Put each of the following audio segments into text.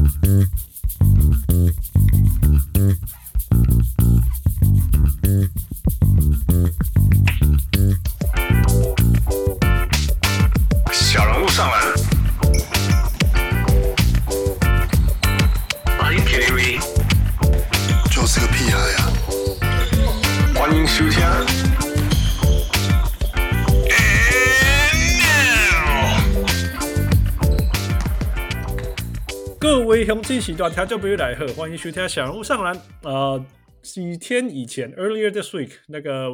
小人物上篮。Are you kidding me？ 就是个屁孩呀！ 欢迎收听。 各位乡亲时段听众朋友大家好，欢迎收听小人物上篮。几天以前 ，earlier this week， 那个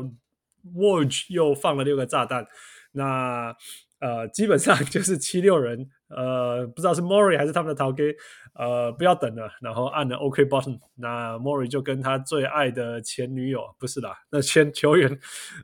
Woj 又放了6個炸彈。那基本上就是76人，不知道是 Morey 還是他們的頭家，不要等了，然後按了 OK button。那 Morey 就跟他最愛的前女友，不是啦，那前球員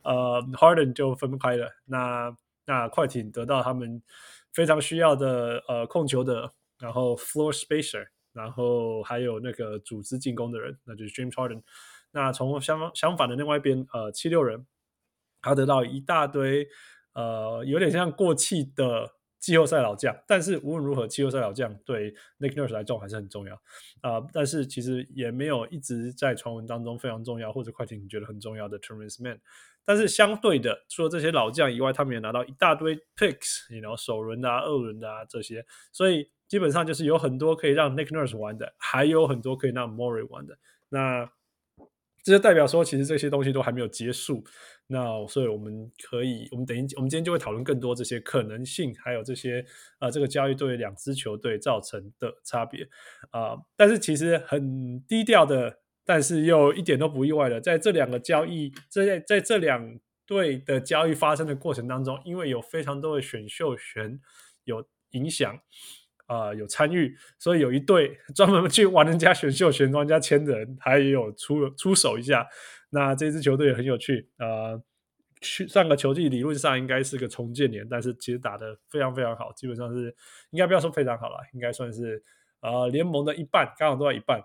Harden 就分開了。那快艇得到他們非常需要的控球的，然後 floor spacer， 然後還有那個組織進攻的人，那就是 James Harden。那從相反的另外一邊76人，他得到一大堆有點像過氣的季後賽老將，但是無論如何季後賽老將對 Nick Nurse 來說還是很重要但是其實也沒有一直在傳聞當中非常重要或者快艇覺得很重要的 Terrence Mann。但是相對的，除了這些老將以外，他們也拿到一大堆 picks， 首輪的2輪的這些，所以基本上就是有很多可以讓 Nick Nurse 玩的，還有很多可以讓 Morey 玩的。那這就代表說，其實這些東西都還沒有結束。那所以我們今天就會討論更多這些可能性，還有這些這個交易對兩支球隊造成的差別但是其實很低調的，但是又一點都不意外的，在這兩個交易，在這兩隊的交易發生的過程當中，因為有非常多的選秀權有影響。有參與，所以有一隊專門去玩人家選秀權、玩人家簽的人，還有出手一下。那這支球隊也很有趣上個球季理論上應該是個重建年，但是其實打得非常非常好，基本上是應該不要說非常好啦，應該算是聯盟的一半，剛好都在一半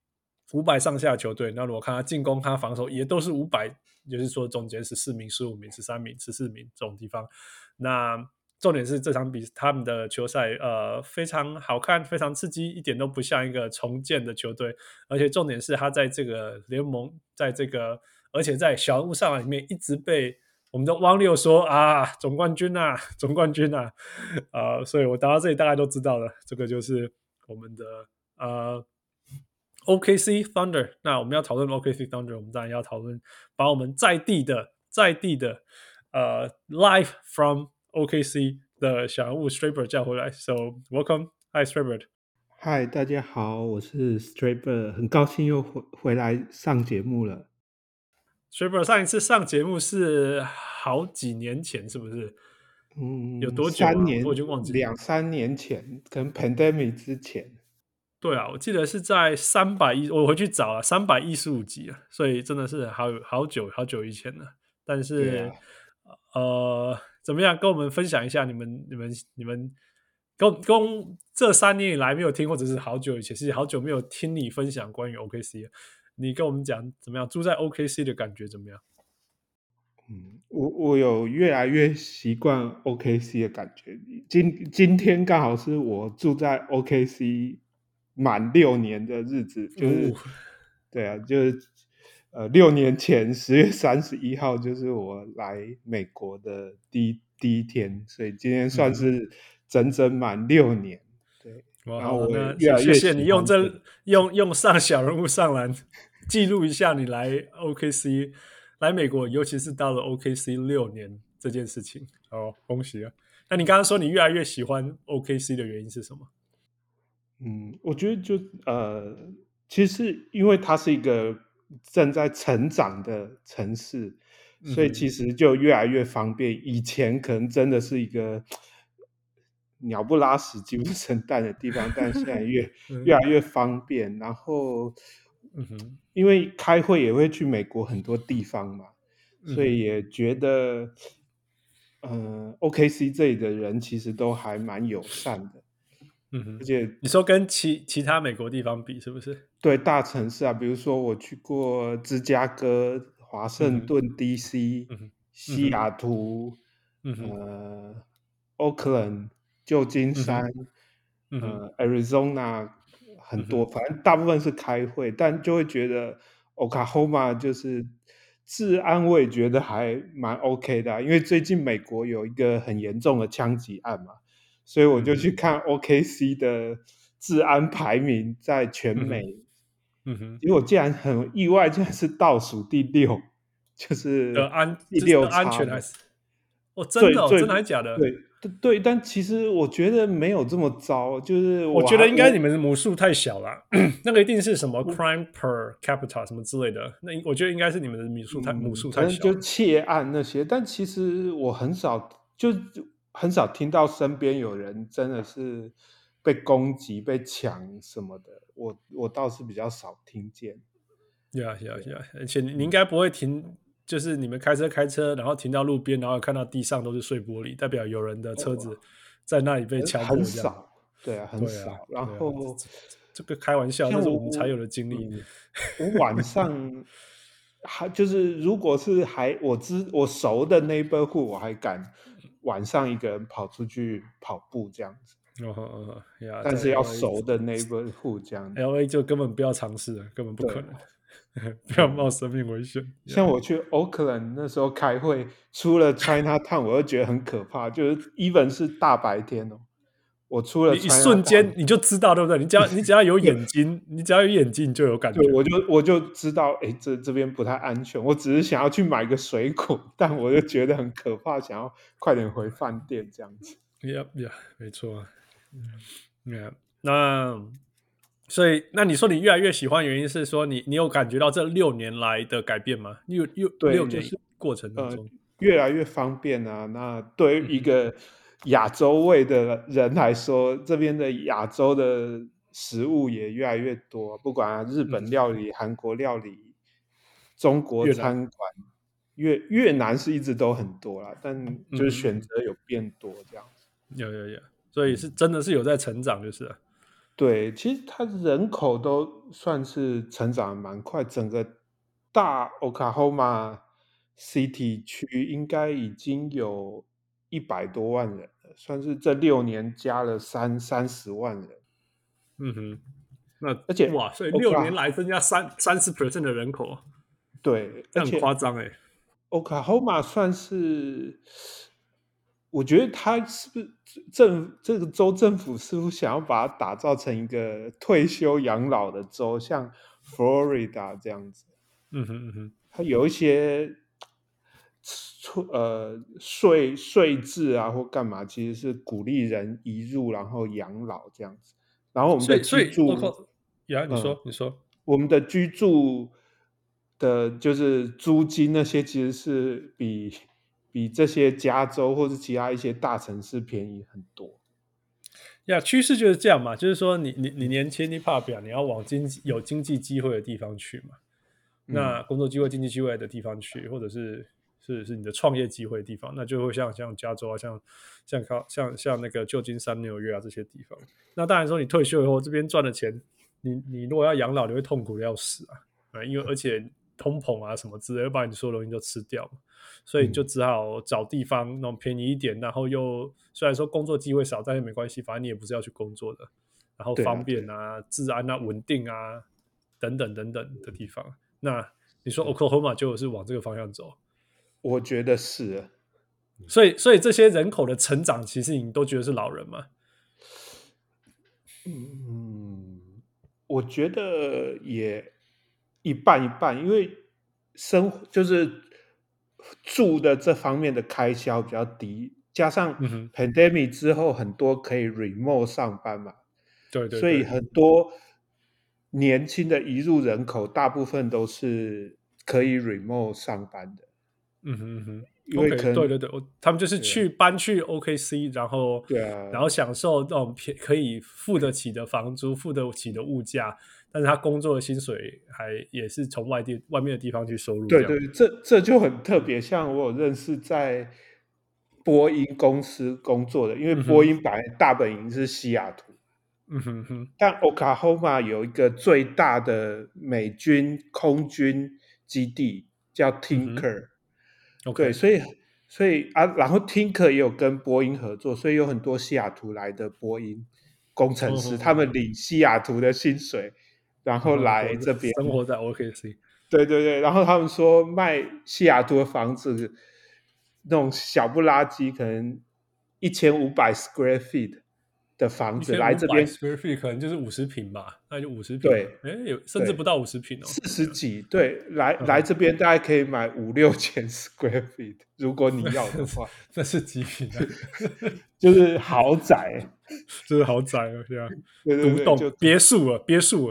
，500上下的球隊。那如果看他進攻、看他防守，也都是500，就是說中間14名、15名、13名、14名這種地方。那重點是這場比他們的球賽非常好看，非常刺激，一點都不像一個重建的球隊。而且重點是他在這個聯盟，而且在小人物上籃裡面一直被我們的汪六說總冠軍啊，總冠軍啊所以我打到這裡大概都知道了，這個就是我們的OKC Thunder。那我們要討論 OKC Thunder， 我們當然要討論把我們在地的live from OKC 的小人物 Straybird 叫回來 ，So welcome, hi Straybird。 嗨，大家好，我是 Straybird， 很高興又回來上節目了。 Straybird 上一次上節目是好幾年前，是不是？有多久啊？我已經忘記了 2-3年前，可能 pandemic 之前。 對啊，我記得是在我回去找了315集啊，所以真的是好久以前了。但是怎麼樣？跟我們分享一下你們跟這3年以來沒有聽，或者是好久以前，是好久沒有聽你分享關於 OKC。你跟我們講怎麼樣？住在 OKC 的感覺怎麼樣？ 我有越來越習慣 OKC 的感覺。今天剛好是我住在 OKC 滿6年的日子，就是對啊，就是6年前10月31號就是我來美國的第一天，所以今天算是整滿6年。對，然後我越來越謝謝你用上小人物上籃記錄一下你來 OKC 來美國，尤其是到了 OKC 6年這件事情。恭喜啊！那你剛剛說你越來越喜歡 OKC 的原因是什麼？ 我覺得其實因為它是一個正在成長的城市，所以其實就越來越方便。以前可能真的是一個鳥不拉屎、雞不生蛋的地方，但現在越來越方便。然後，因為開會也會去美國很多地方嘛，所以也覺得，OKC 這裡的人其實都還蠻友善的。而且你說跟其他美國地方比是不是？ 對，大城市啊，比如說我去過芝加哥、華盛頓 DC、西雅圖、Oakland、舊金山、Arizona、 很多，反正大部分是開會，但就會覺得 Oklahoma 就是治安，我也覺得還蠻 OK 的因為最近美國有一個很嚴重的槍擊案嘛，所以我就去看 OKC 的治安排名在全美，結果竟然很意外，竟然是倒數第6，就是第6差安全還是真的真的還是假的？ 对，但其實我覺得沒有這麼糟，就是我覺得應該你們的母數太小了，那個一定是什麼 crime per capita 什麼之類的，那我覺得應該是你們的母數太小， 就竊案那些，但其實我很少聽到身邊有人真的是被攻擊、被搶什麼的，我倒是比較少聽見。 而且你應該不會停。就是你們開車，然後停到路邊，然後看到地上都是碎玻璃，代表有人的車子在那裡被敲破。 很少，对啊，很少。然後这個開玩笑，這是我們才有的經歷。 我晚上就是如果是我熟的 neighborhood， 我還敢晚上一個人跑出去跑步這樣子。但是要熟的 neighborhood 這樣子。 LA 就根本不要嘗試了，根本不可能。不要冒生命危險。 像我去 Oakland 那時候開會，出了 Chinatown 我就覺得很可怕，就是 even 是大白天我出了 Chinatown， 一瞬間你就知道，对不对？你只要有眼睛，你只要有眼睛，你就有感觉。 对，我就知道，這邊不太安全。我只是想要去買個水果，但我就覺得很可怕，想要快點回飯店這樣子。 沒錯。所以，那你說你越來越喜歡，原因是說你有感覺到這6年來的改變嗎？ 對 6年過程當中， 越來越方便啊。那對於一個亞洲味的人來說，這邊的亞洲的食物也越來越多，不管日本料理、韓國料理、中國餐館、越南是一直都很多啦，但就是選擇有變多這樣子。 有，所以是真的是有在成長，就是了。 對，其實它人口都算是成長得蠻快，整個大 Oklahoma City 區應該已經有100多萬人了，算是這6年加了30萬人。 那而且哇，所以6年來增加30% 的人口， 對， 這很誇張欸。 Oklahoma 算是。我覺得他是不是這個州政府是不是想要把它打造成一個退休養老的州，像 Florida 這樣子？它有一些稅制啊或幹嘛，其實是鼓勵人移入然後養老這樣子。然後我們的居住， 你說， 我們的居住的就是租金那些，其實是比這些加州或是其他一些大城市便宜很多。 趨勢就是這樣嘛，就是說你年輕你怕表，你要往有經濟機會的地方去嘛。那工作機會、經濟機會的地方去，或者是你的創業機會的地方，那就會像加州啊，像那個舊金山、紐約啊這些地方。那當然說你退休以後這邊賺的錢，你如果要養老，你會痛苦的要死啊，因為而且通膨啊什麼之類，會把你所有東西都吃掉嘛。所以你就只好找地方那種便宜一點，然後又雖然說工作機會少，但是沒關係，反正你也不是要去工作的，然後方便啊、治安啊、穩定啊等等的地方。那你說 Oklahoma 就是往這個方向走？ 我覺得是。 所以這些人口的成長，其實你都覺得是老人嗎？ 我覺得也一半一半，因為就是住的這方面的開銷比較低，加上 pandemic 之後很多可以 remote 上班嘛， 對， 所以很多年輕的移入人口大部分都是可以 remote 上班的。因為可能对，他們就是搬去 OKC， 然後享受那種可以付得起的房租、付得起的物價，但是他工作的薪水也是從外面的地方去收入。 对，這就很特別。像我有認識在波音公司工作的，因為波音本來大本營是西雅圖，但 Oklahoma 有一個最大的美軍空軍基地叫 Tinker。對，所以然後 Tinker 也有跟波音合作，所以有很多西雅圖來的波音工程師，他們領西雅圖的薪水，然後來這邊生活在 OKC。 对对对，然後他們說賣西雅圖的房子，那種小不拉幾，可能1500 square feet 的房子來這邊 ，square feet 可能就是50坪吧，那就50坪。 对， 有甚至不到50坪哦 ，40幾。对，來這邊大概可以買5-6千 square feet， 如果你要的話。 這是幾坪啊？ 就是豪宅， 就是豪宅了，对啊， 對對对， 獨棟別墅了，別墅，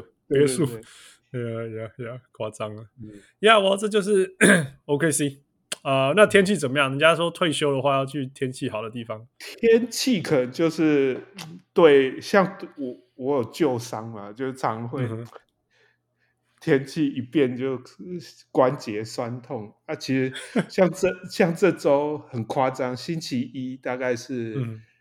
誇張了。我這就是 OKC。那天氣怎麼樣？人家說退休的話要去天氣好的地方。 天氣可能就是對，像我有舊傷嘛，就常會天氣一變就關節痠痛。其實像這週很誇張，星期一大概是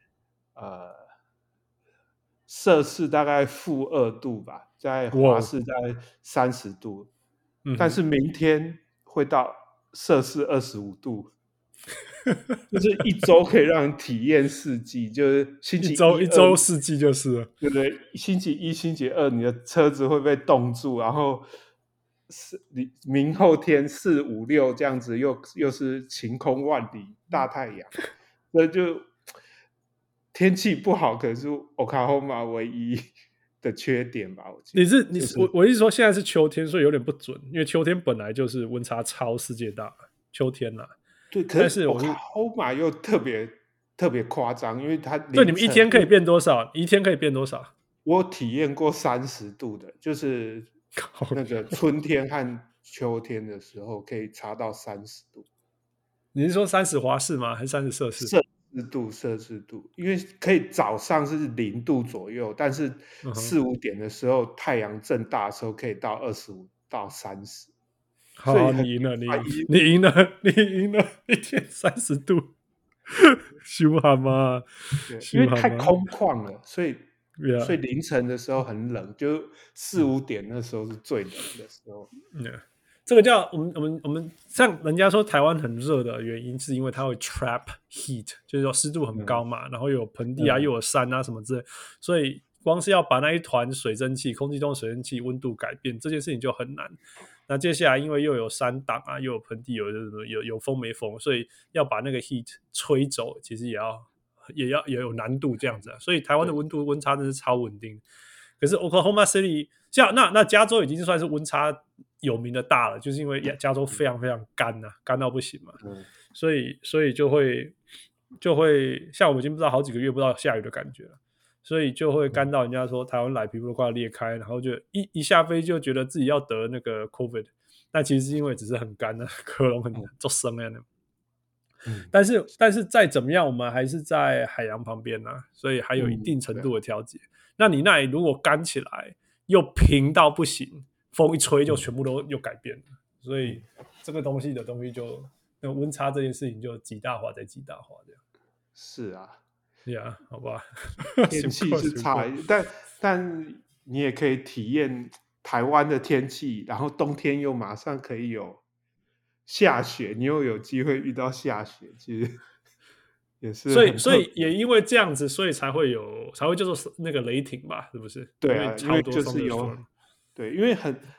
攝氏大概-2度吧，在華氏大概30度，但是明天會到攝氏25度，就是一周可以讓人體驗四季，就是星期一周四季就是了， 对不对？星期一、星期二，你的車子會被凍住，然後明後天4、5、6這樣子又是晴空萬里，大太陽，所以就天氣不好，可能是 Oklahoma 唯一的缺點吧。我我意思說現在是秋天，所以有點不準，因為秋天本來就是溫差超世界大，秋天啦。 對，可是 Oklahoma 又特別誇張，因為它對，你們一天可以變多少？一天可以變多少？ 我體驗過30度的，就是那個春天和秋天的時候可以差到30度。 你是說30華氏嗎？還是30攝氏？ 攝氏度，因為可以早上是0度左右，但是4、5點的時候，太陽正大的時候可以到25到30。 好，你贏了，你贏了，一天30度，羞哈嗎？ 因為太空曠了，所以凌晨的時候很冷，就4、5點那時候是最冷的時候。 這個叫我們像人家說台灣很熱的原因，是因為它會 trap heat， 就是說濕度很高嘛，然後又有盆地啊，又有山啊什麼之類，所以光是要把那一團水蒸氣，空氣中的水蒸氣溫度改變，這件事情就很難。那接下來因為又有山擋啊，又有盆地，有風沒風，所以要把那個 heat 吹走，其實也有難度這樣子啊。所以台灣的溫差真是超穩定。可是 Oklahoma City 那加州已經算是溫差有名的大了，就是因為加州非常非常乾啊，乾到不行嘛，所以就會像我們已經不知道好幾個月不知道下雨的感覺了，所以就會乾到人家說台灣來皮膚都快要裂開，然後就一下飛就覺得自己要得那個 COVID， 但其實是因為只是很乾啊，喉嚨很作聲啊。但是再怎麼樣，我們還是在海洋旁邊啊，所以還有一定程度的調節。那你那裡如果乾起來又平到不行，風一吹就全部都又改變了，所以這個東西就那溫差這件事情就極大化再極大化這樣。 是啊， 好吧， 天氣是差，但你也可以體驗台灣的天氣，然後冬天又馬上可以有下雪，你又有機會遇到下雪，其實也是。 所以也因為這樣子，所以才會叫做那個雷霆吧，是不是？ 對啊，因為就是因為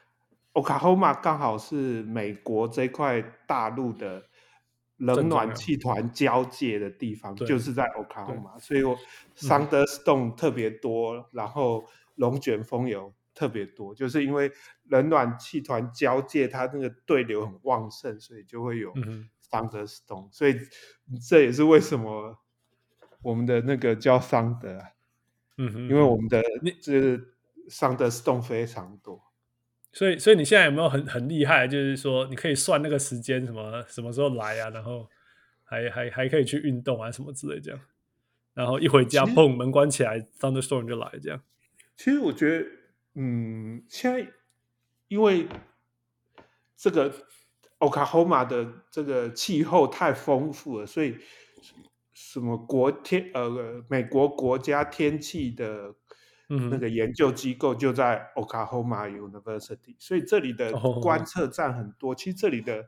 Oklahoma 剛好是美國這塊大陸的冷暖氣團交界的地方，就是在 Oklahoma，所以Thunderstorm 特別多，然後龍捲風有特別多，就是因為冷暖氣團交界，它那個對流很旺盛，所以就會有 Thunderstorm，所以這也是為什麼我們的那個叫 Thunder，因為我們的Thunderstorm 非常多。 所以你現在有沒有很厲害？就是說你可以算那個時間，什麼時候來啊，然後還可以去運動啊什麼之類這樣，然後一回家砰門關起來 ，thunderstorm 就來這樣。 其實我覺得，現在因為這個 Oklahoma 的這個氣候太豐富了，所以什麼美國國家天氣的。那個研究機構就在 Oklahoma University， 所以這裡的觀測站很多。其實這裡的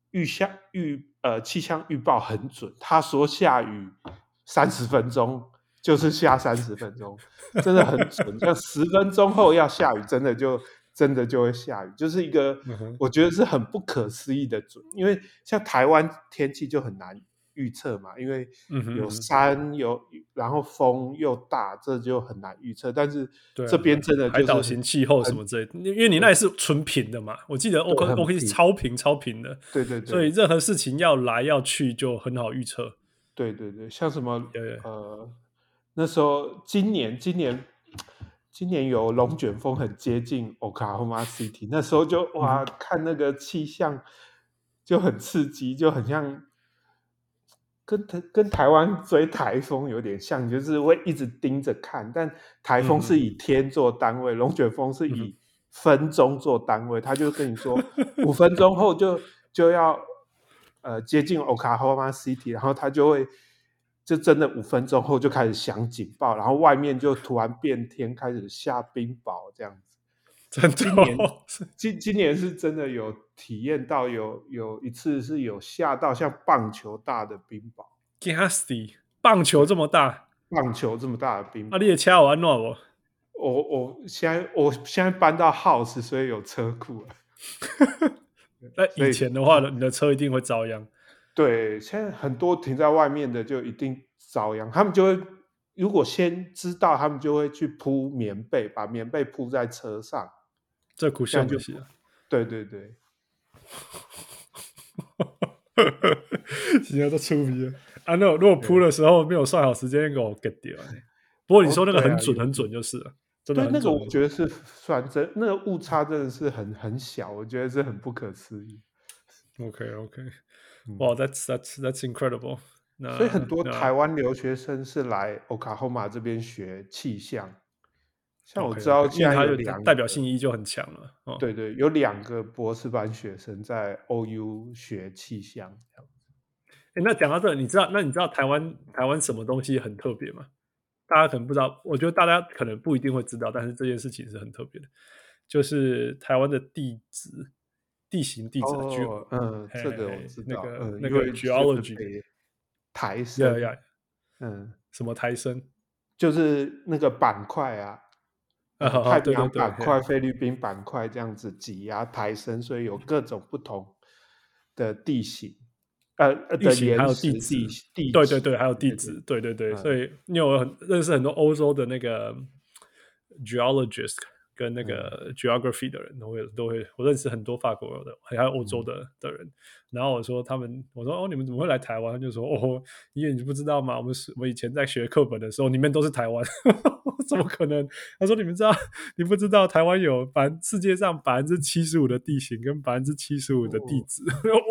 氣象預報很準，他說下雨30分鐘就是下30分鐘，真的很準。像10分鐘後要下雨，真的就会下雨，就是一個我覺得是很不可思議的準。因為像台灣天氣就很難預測嘛，因為有山然後風又大，這就很難預測。但是這邊真的就是海島型氣候什麼之類的，因為你那裡是純平的嘛，我記得 OK 是超平的，對，所以任何事情要來要去就很好預測。 对，像什么那時候今年有龙捲風很接近 Oklahoma City， 那時候就哇看那個氣象就很刺激，就很像跟台灣追台風有點像，就是會一直盯着看，但台風是以天做單位，龍捲風是以分鐘做單位，他就跟你說5分鐘後就要接近 Oklahoma City， 然後他就會就真的5分鐘后就開始響警報，然後外面就突然變天，開始下冰雹這樣子。今年是真的有體驗到有一次是有下到像棒球大的冰雹。 棒球這麼大？ 棒球這麼大的冰雹。 你的車有安怎嗎？ 我現在搬到 house， 所以有車庫了。 那以前的話，你的車一定會遭殃。 對，現在很多停在外面的就一定遭殃，他們就會如果先知道，他們就會去鋪棉被，把棉被鋪在車上。 這苦笑就是了。 對， 現在都出皮了啊！那如果鋪的時候沒有算好時間，給我 get 掉。不過你說那個很準就是了，真的很準。 對，那個我覺得是算真，那個誤差真的是很小，我覺得是很不可思議。 OK， 哇，that's incredible。 所以很多台灣留學生是來 Oklahoma 這邊學氣象，像我知道現在有2個代表性意義就很強了。 对，有2個博士班學生在 OU 學氣象。 那講到這，你知道台灣什麼東西很特別嗎？大家可能不知道，我覺得大家可能不一定會知道，但是這件事情是很特別的，就是台灣的地形地質這個我知道， 那個 geology 台生， 什麼台生， 就是那個板塊啊，太平洋板塊、菲律賓板塊這樣子擠壓台生，所以有各種不同的地形。地形還有地質，對，還有地質，對，所以你有認識很多歐洲的那個 geologist 跟那個 geography 的人，都會，我認識很多法國的，還有歐洲的人。然後我說你們怎麼會來台灣？他就說因為你不知道嗎？我們以前在學課本的時候，裡面都是台灣，怎麼可能？他說你不知道台灣有世界上75%的地形跟75%的地質。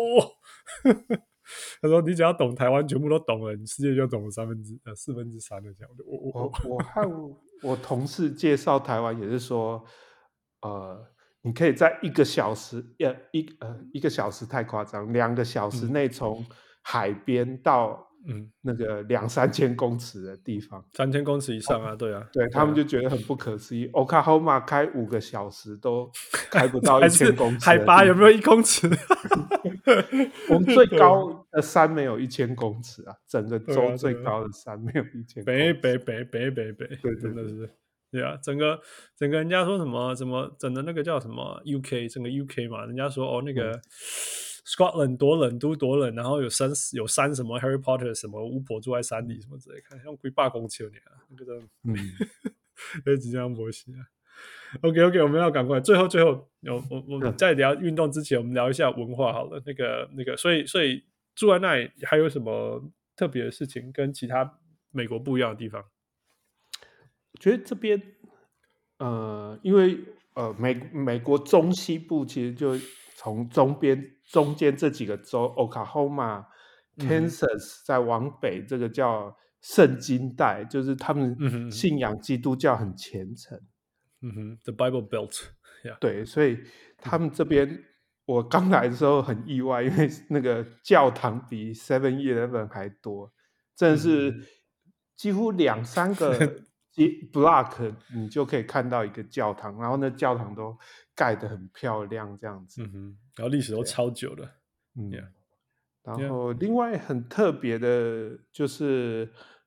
他說：“你只要懂台灣，全部都懂了，你世界就懂了4分之3的這樣。” 我和我同事介紹台灣也是說，你可以在1個小時，1個小時太誇張，2個小時內從海邊到那個2-3千公尺的地方 ，3000公尺以上啊，對啊， 對他們就覺得很不可思議。Oklahoma 開5個小時都開不到1000公尺， 海拔有沒有1公尺？ 我們最高的山沒有1000公尺啊，整個州最高的山沒有1000公尺。 北，真的是，對啊，整個人家說什麼整個那個叫什麼 UK， 整個 UK 嘛，人家說那個。Scotland 多冷都多冷，然後有山什麼 Harry Potter 什麼巫婆住在山裡什麼之類，看像8公尺啊，那個真的，那即將不行啊。OK， 我們要趕快，最後，我們在聊運動之前，我們聊一下文化好了。那個，所以住在那裡還有什麼特別的事情跟其他美國不一樣的地方？ 我覺得這邊，因為美國中西部其實就從中間這幾個州 Oklahoma、Kansas 再往北，這個叫聖經帶，就是他們信仰基督教很虔誠。 The Bible Belt， 對，所以他們這邊我剛來的時候很意外，因為那個教堂比 7-Eleven 還多，真的是幾乎2-3個block 你就可以看到一個教堂，然後那教堂都蓋得很漂亮這樣子， 然後歷史都超久了， 然後另外很特別的就是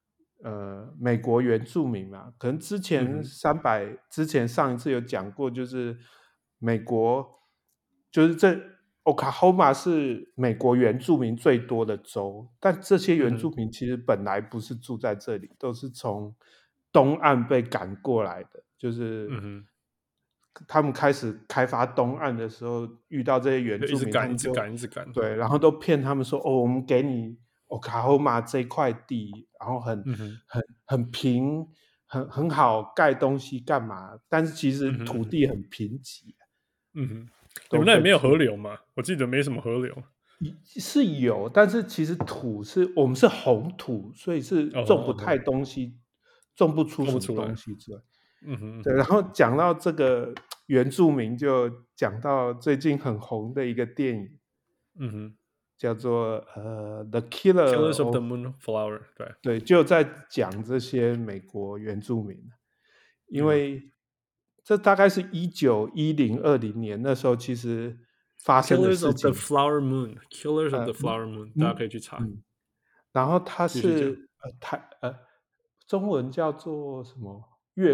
美國原住民嘛，可能之前之前上一次有講過，就是美國就是Oklahoma 是美國原住民最多的州，但這些原住民其實本来不是住在這裡，都是從東岸被趕過來的，就是他們開始開發東岸的時候，遇到這些原住民， 一直趕， 對，然後都騙他們说，哦，我們給你Oklahoma 這塊地，然後很平，很好蓋東西幹嘛？但是其實土地很貧瘠。 你們那裡沒有河流嗎？我記得沒什麼河流。 是有，但是其實我們是紅土，所以是種不太東西，種不出什麼東西之外。对。然後講到這個原住民，就講到最近很紅的一個電影，叫做The Killers of the Moonflower， 對，就在講這些美國原住民，因為這大概是1910-20年那時候，其實發生的事情。 Killers of the Flower Moon， 大家可以去查。 然後它是中文叫做什麼？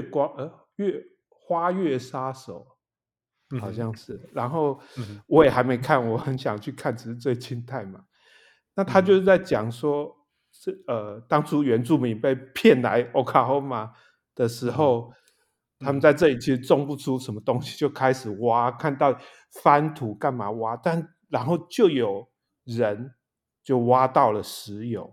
花月殺手，好像是。然後我也還沒看，我很想去看，只是最近太忙。那他就是在講說，當初原住民被騙來 Oklahoma 的時候，他們在這裡其實種不出什麼東西，就開始挖，看到翻土幹嘛挖，然後就有人就挖到了石油。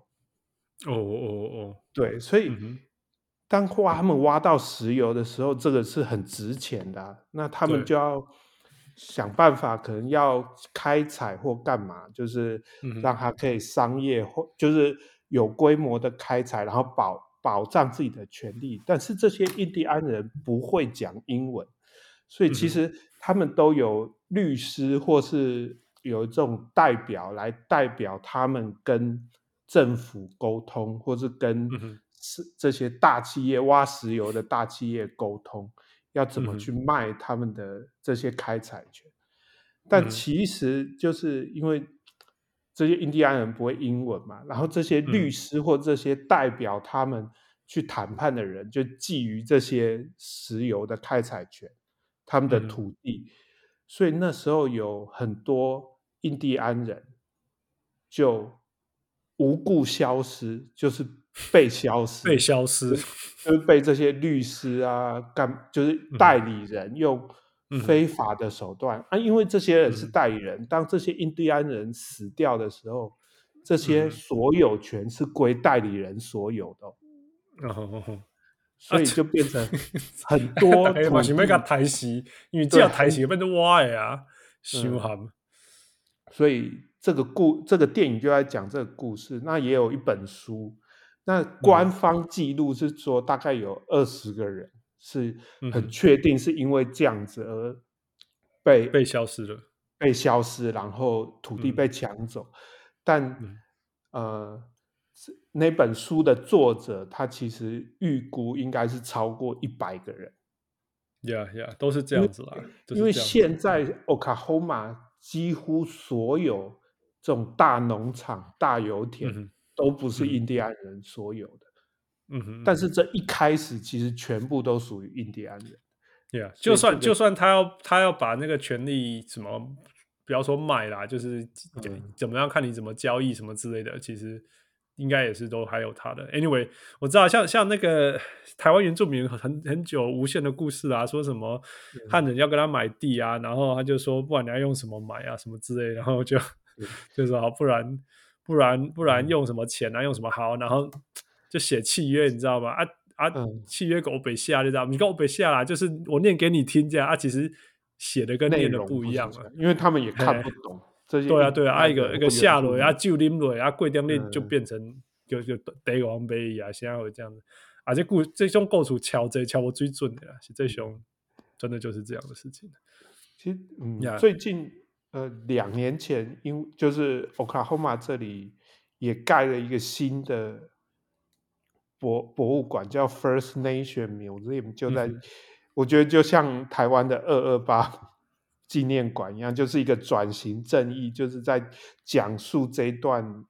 对，所以當他們挖到石油的時候，這個是很值錢的，那他們就要想辦法，可能要開採或幹嘛，就是讓它可以商業或就是有規模的開採，然後保障自己的權利。但是這些印第安人不會講英文，所以其實他們都有律師或是有一種代表來代表他們跟政府溝通，或是跟這些大企業挖石油的大企業溝通，要怎麼去賣他們的這些開採權。但其實就是因為這些印第安人不會英文嘛，然後這些律師或這些代表他們去談判的人就覬覦這些石油的開採權，他們的土地，所以那時候有很多印第安人就無故消失，就是被消失，就是被這些律師啊就是代理人用非法的手段因為這些人是代理人，當這些印第安人死掉的時候，這些所有權是歸代理人所有的所以就變成很多土地嘛是要給他抬死，因為只要抬死變成我的啊，傷寒。 所以這個電影就在講這個故事，那也有一本書，那官方記錄是說大概有20個人是很確定是因為這樣子而被消失了， 然後土地被搶走，但那本書的作者他其實預估應該是超過100個人。 都是這樣子啦。 因為現在 Oklahoma 幾乎所有這種大農場、大油田都不是印第安人所有的。但是這一開始其實全部都屬於印第安人。 就算他要把那個權利什麼，不要說賣啦，就是怎麼樣看你怎麼交易什麼之類的，其實應該也是都還有他的。Anyway， 我知道像那個台灣原住民很久無限的故事啊，說什麼漢人要跟他買地啊，然後他就說不然你要用什麼買啊什麼之類的，然後就說好不然用什麼錢啊，用什麼好，然後就寫契約，你知道嗎？契約給我北下，你知道嗎？你跟我北下啦，就是我念給你聽這樣其實寫的跟念的不一樣了， 因為他們也看不懂。 對啊，一個下落就啉落過點日就變成就地王杯啊，現在會這樣子這種故事敲我最準的啦，是這種真的就是這樣的事情。 其實最近2年前，就是 Oklahoma 這裡也蓋了一個新的博物館，叫 First Nation Museum， 就在我覺得就像台灣的228紀念館一樣，就是一個轉型正義，就是在講述這一段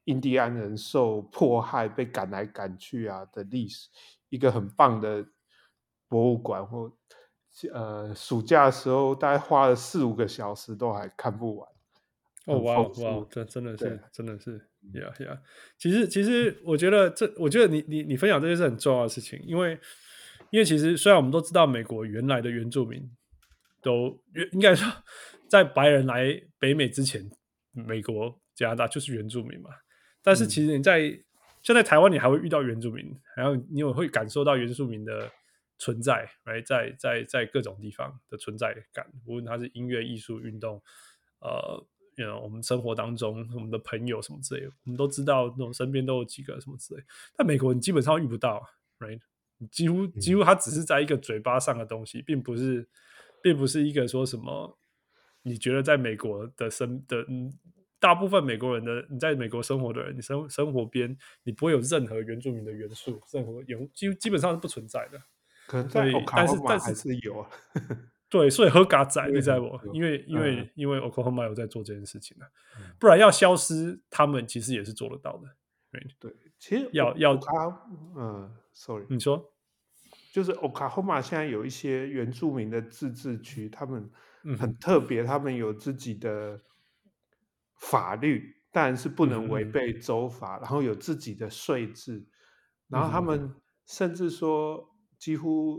印第安人受迫害被趕來趕去啊的歷史，一個很棒的博物館，或暑假的時候大概花了4-5個小時都還看不完。 哦，哇哇，这真的是呀。其實我觉得你分享这些是很重要的事情，因为其實雖然我們都知道美國原來的原住民都應該說在白人來北美之前，美國加拿大就是原住民嘛。但是其實像在台灣，你還會遇到原住民，然後你也會感受到原住民的存在， right? 在各種地方的存在感，無論它是音樂、藝術、運動，我們生活當中我們的朋友什麼之類的，我們都知道那種身邊都有幾個什麼之類的。但美國你基本上遇不到 ，right? 幾乎它只是在一個嘴巴上的東西，並不是一個說什麼你覺得在美國的大部分美國人的你在美國生活的人，你生活邊你不會有任何原住民的元素，基本上是不存在的。 可能在 Oklahoma 還是有啊。 对，所以合嘎仔你知道不？因為 Oklahoma 有在做這件事情啊，不然要消失，他們其實也是做得到的。 對，其實sorry， 你說， 就是 Oklahoma 現在有一些原住民的自治區，他們很特別，他們有自己的法律，但是不能違背州法，然後有自己的稅制，然後他們甚至說幾乎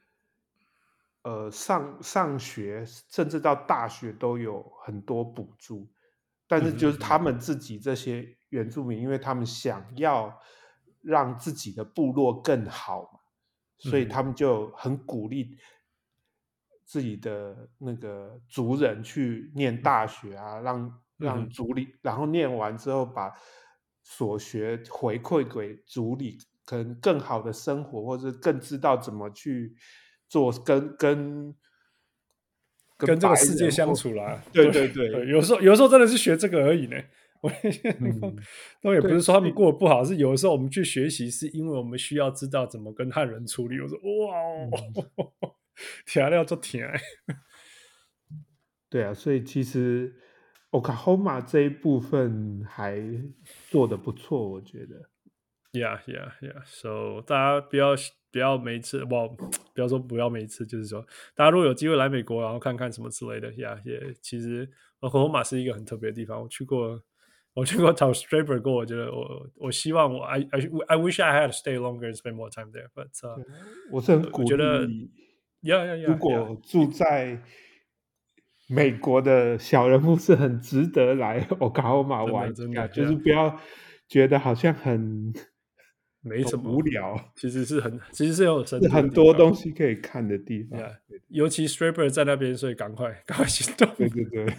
上學甚至到大學都有很多補助，但是就是他們自己這些原住民，因為他們想要讓自己的部落更好嘛，所以他們就很鼓勵自己的那個族人去念大學啊，讓族裡，然後念完之後把所學回饋給族裡，可能更好的生活，或者更知道怎麼去做跟這個世界相處啦。 對， 有時候真的是學這個而已呢。都也不是說他們過得不好，是有的時候我們去學習，是因為我們需要知道怎麼跟漢人處理。我說哇，調料做甜。 對啊，所以其實 Oklahoma 這一部分還做得不錯，我覺得。 Yeah. So 大家不要每一次，不要說不要每一次，就是說大家如果有機會來美國，然後看看什麼之類的，Yeah，其實 Oklahoma 是一個很特別的地方。我去過找 Straber 過，我覺得我希望I wish I had to stay longer and spend more time there. But 我是很鼓勵，如果住在美國的小人物是很值得來 Oklahoma 玩一下，就是不要覺得好像沒什麼無聊， 其實是有很多東西可以看的地方。 尤其 Straber 在那邊，所以趕快行動。 對。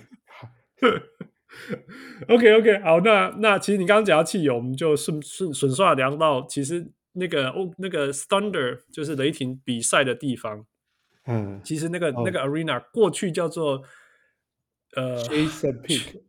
OK， 好，那其實你剛剛講到汽油，我們就順順聊到，其實那個 Thunder 就是雷霆比賽的地方，其實那個 arena 過去叫做 Chesapeake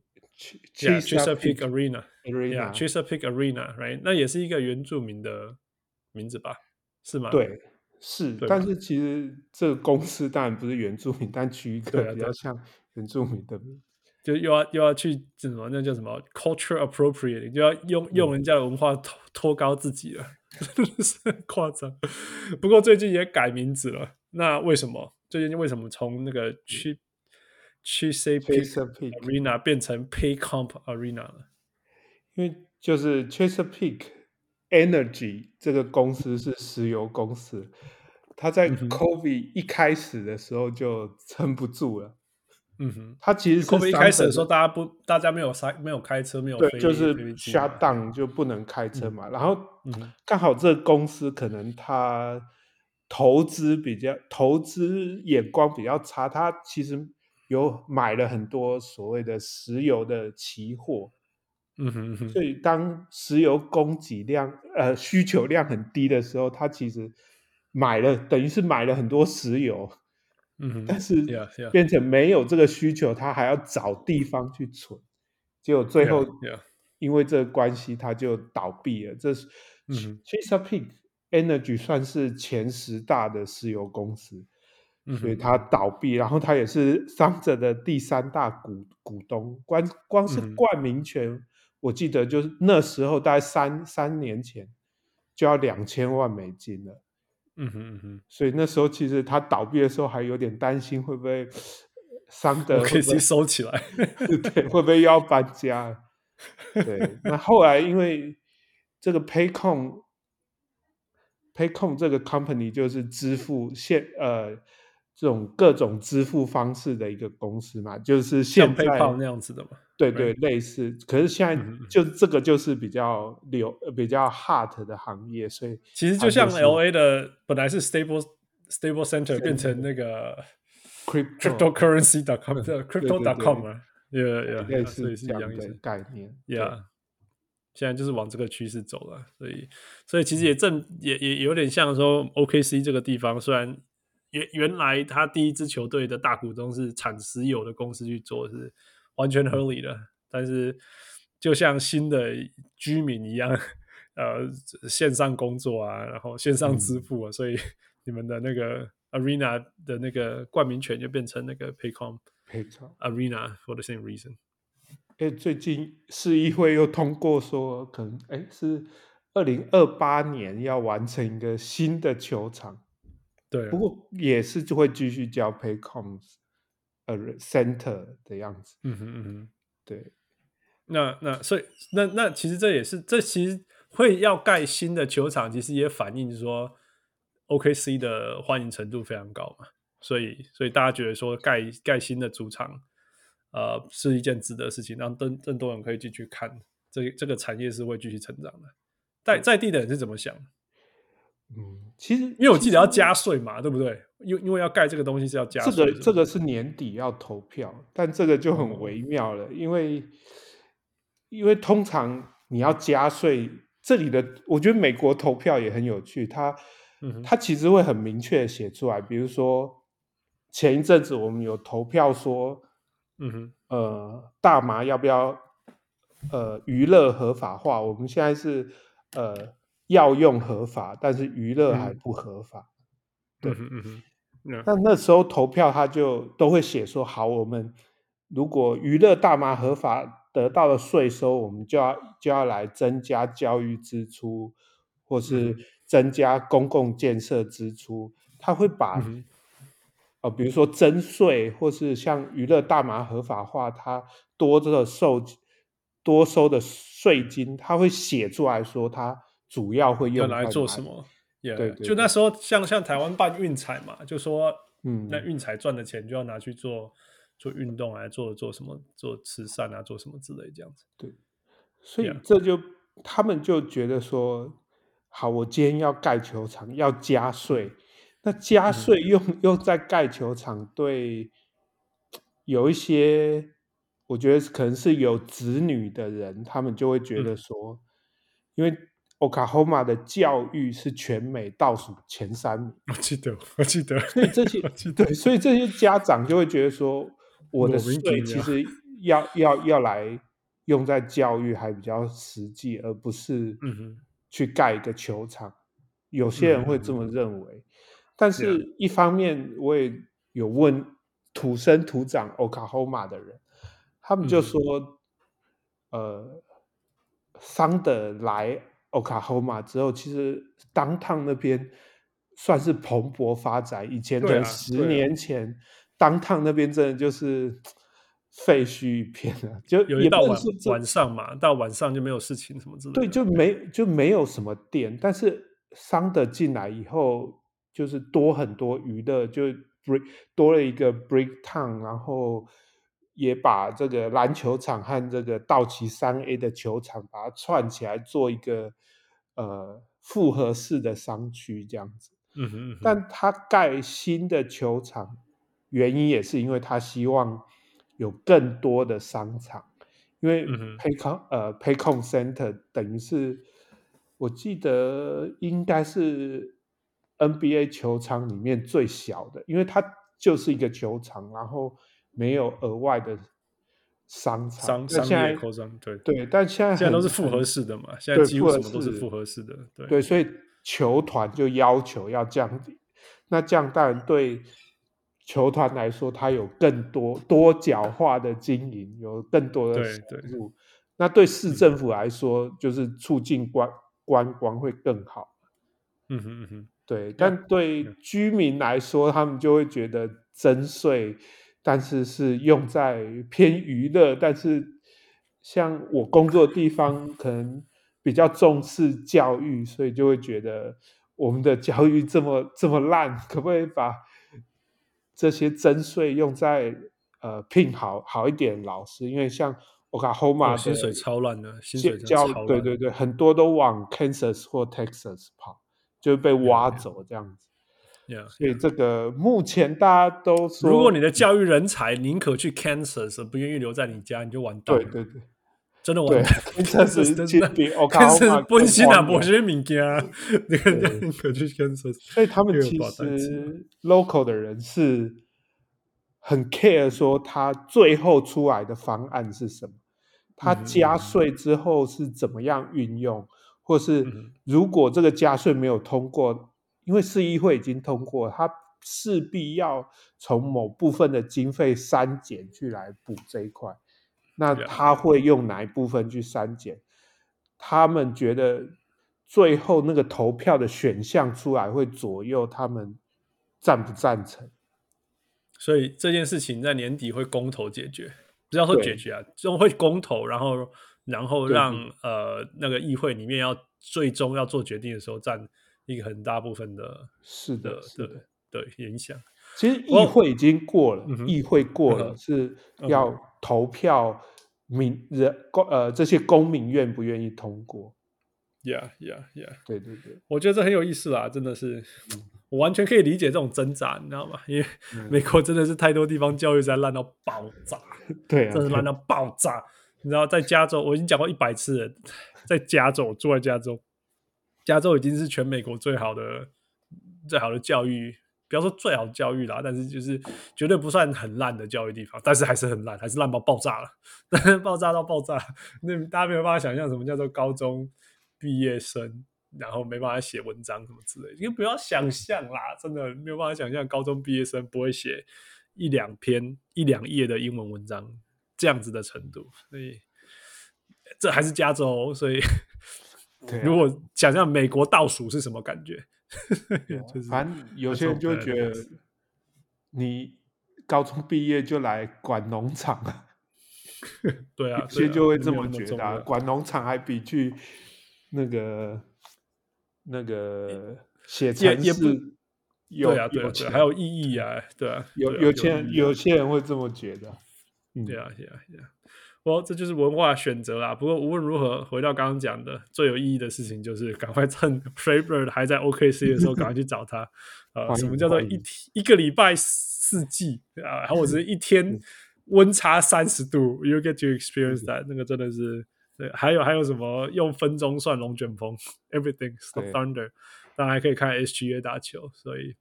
Arena，Chesapeake Arena，right？ 那也是一個原住民的名字吧？是嗎？ 對，是。但是其實這個公司當然不是原住民，但取一個比較像原住民的名字。 就又要去什麼，那叫什麼 culture appropriating， 就要用人家的文化托高自己了，真的是很誇張。不過最近也改名字了，那為什麼？最近為什麼從那個Chesapeake Arena 變成 Paycomp Arena 了？ 因為就是 Chesapeake Energy 這個公司是石油公司，它在 COVID 一開始的時候就撐不住了。他其實是 COVID 一開始的時候，大家沒有開車，沒有飛， 就是 shut down 就不能開車嘛。然後剛好這個公司可能他投資眼光比較差，他其實有買了很多所謂的石油的期貨。所以當石油供給量需求量很低的時候，他其實等於是買了很多石油。但是變成沒有這個需求，他還要找地方去存，結果最後因為這個關係，他就倒閉了。這是 Chesapeake Energy 算是前10大的石油公司，所以他倒閉，然後他也是桑哲的第3大股東，光是冠名權我記得就是那時候大概三年前就要$2000萬了。所以那時候其實他倒閉的時候还有點擔心会不會桑德会不會 OKC 收起來， 对，会不会又要搬家？对，那後來因為這個 Paycom 這個 company 就是支付這種各種支付方式的一個公司嘛，就是現在像 PayPal 那樣子的嘛。 对对，類似。可是現在就這個就是比較hot 的行業，所以其實就像 LA 的本來是 Stable Center 变成那個 cryptocurrency.com crypto.com 啊， 類所以似這樣是一樣意思的概念。 现在就是往這個趨勢走了，所以其實也有點像說 OKC 這個地方，雖然原來他第一支球隊的大股東是產石油的公司去做，是完全合理的，但是就像新的居民一樣，線上工作啊，然後線上支付啊，所以你們的那個 Arena 的那個冠名權就變成那個 Paycom Arena for the same reason。 最近市議會又通過說，可能是2028年要完成一個新的球場。 對， 不過也是就會繼續叫 Paycom Center 的樣子。對。 所以那其實這其實會要蓋新的球場，其實也反映說 OKC 的歡迎程度非常高嘛，所以大家覺得說蓋新的主場，是一件值得的事情，讓更多人可以進去看，這個產業是會繼續成長的。在地的人是怎麼想？ 其實因為我記得要加稅嘛，對不對？因為要蓋這個東西是要加稅， 這個是年底要投票，但這個就很微妙了，因為通常你要加稅，這裡的我覺得美國投票也很有趣，它其實會很明確的寫出來，比如說前一陣子我們有投票說，大麻要不要娛樂合法化？我們現在是藥用合法，但是娛樂還不合法。對，那時候投票他就都會寫說，好，我們如果娛樂大麻合法得到的稅收，我們就要來增加教育支出，或是增加公共建設支出。他會把比如說徵稅，或是像娛樂大麻合法化，它多收的稅金，他會寫出來說，他主要會用來做什麼？ 對， 就那時候像台灣辦運彩嘛，就說那運彩賺的錢就要拿去做運動啊，做什麼，做慈善啊，做什麼之類這樣子。 對，所以他們就覺得說，好，我今天要蓋球場，要加稅，那加稅用在蓋球場，對有一些我覺得可能是有子女的人，他們就會覺得說，因為Oklahoma 的教育是全美倒數前3名， 我記得， 所以這些家長就會覺得說，我的稅其實要來用在教育還比較實際，而不是去蓋一個球場。有些人會這麼認為，但是一方面我也有問土生土長 Oklahoma 的人，他們就說，桑德來Oklahoma 之後，其實 downtown 那邊算是蓬勃發展。以前可能10年前，downtown 那邊真的就是廢墟一片了，就有一到晚上嘛，到晚上就沒有事情什麼之類的。 對，就沒有什麼店。但是桑德進來以後，就是多很多娛樂，就多了一個 Bricktown， 然後也把這個籃球場和這個道奇3A 的球場把它串起來，做一個複合式的商區這樣子。但他蓋新的球場原因也是因為他希望有更多的商場，因為 Paycom Center 等於是我記得應該是 NBA 球場裡面最小的，因為它就是一個球場，然後沒有額外的商場， 商業擴張， 对，但現在都是複合式的嘛，現在幾乎什麼都是複合式的， 對，所以球團就要求要降低，那這樣當然對球團來說，它有更多角化的經營，有更多的收入， 那對市政府來說，就是促進觀光會更好。對，但對居民來說，他們就會覺得徵稅，但是用在偏娛樂，但是像我工作的地方可能比較重視教育，所以就會覺得我們的教育這麼爛，可不可以把這些徵稅用在聘好一點的老師？因為像Oklahoma 的薪水超爛的，薪水真的超爛。 对，很多都往 Kansas 或 Texas 跑，就被挖走這樣子。所以这個目前大家都說， 如果你的教育人才寧可去 Kansas， 不願意留在你家，你就完蛋了。 對， 真的完蛋。 Kansas 真的比 Oklahoma 本身也沒什麼東西，寧可去 Kansas。 所以他們其實 local 的人是很 care 說他最後出來的方案是什麼，他加稅之後是怎麼樣運用，或是如果這個加稅沒有通過，因為市議會已經通過，他勢必要從某部分的經費刪減去來補這一塊，那他會用哪一部分去刪減？他們覺得最後那個投票的選項出來會左右他們贊不贊成。 所以這件事情在年底會公投解決，不要說解決啊，就會公投，然後讓那個議會裡面最終要做決定的時候佔一個很大部分的影響。 其實議會已經過了，議會過了是要投票這些公民願不願意通過。 Yeah. 對， 我覺得這很有意思啦，真的是。我完全可以理解這種掙扎，你知道嗎？因為美國真的是太多地方教育在爛到爆炸， 对啊， 真的爛到爆炸。你知道，在加州，我已經講過100次了，在加州，住在加州，加州已經是全美國最好的教育，不要說最好的教育啦，但是就是絕對不算很爛的教育地方，但是還是很爛，還是爛到爆炸了，爆炸到爆炸。那大家沒有辦法想象什麼叫做高中畢業生。然後沒辦法寫文章什麼之類的，因為不要想象啦，真的沒有辦法想象高中畢業生不會寫1-2篇1-2頁的英文文章這樣子的程度，所以這還是加州，所以如果想象美國倒數是什麼感覺，就是反正有些人就覺得你高中畢業就來管農場啊， 對啊， 有些就會這麼覺得，管農場還比去那個寫程式有錢， 還有意義啊，对啊， 有些人会這麼覺得， 對啊，這就是文化選擇啦。不過無論如何，回到剛剛講的最有意義的事情，就是趕快趁 Trey Burke 還在 OKC 的時候，趕快去找他。什麼叫做一個禮拜4季啊？然後我只是一天溫差30度，You get to experience that，那個真的是。對，還有什麼用分鐘算龍捲風 ，Everything Stop Thunder， 當然還可以看 SGA 打球，所以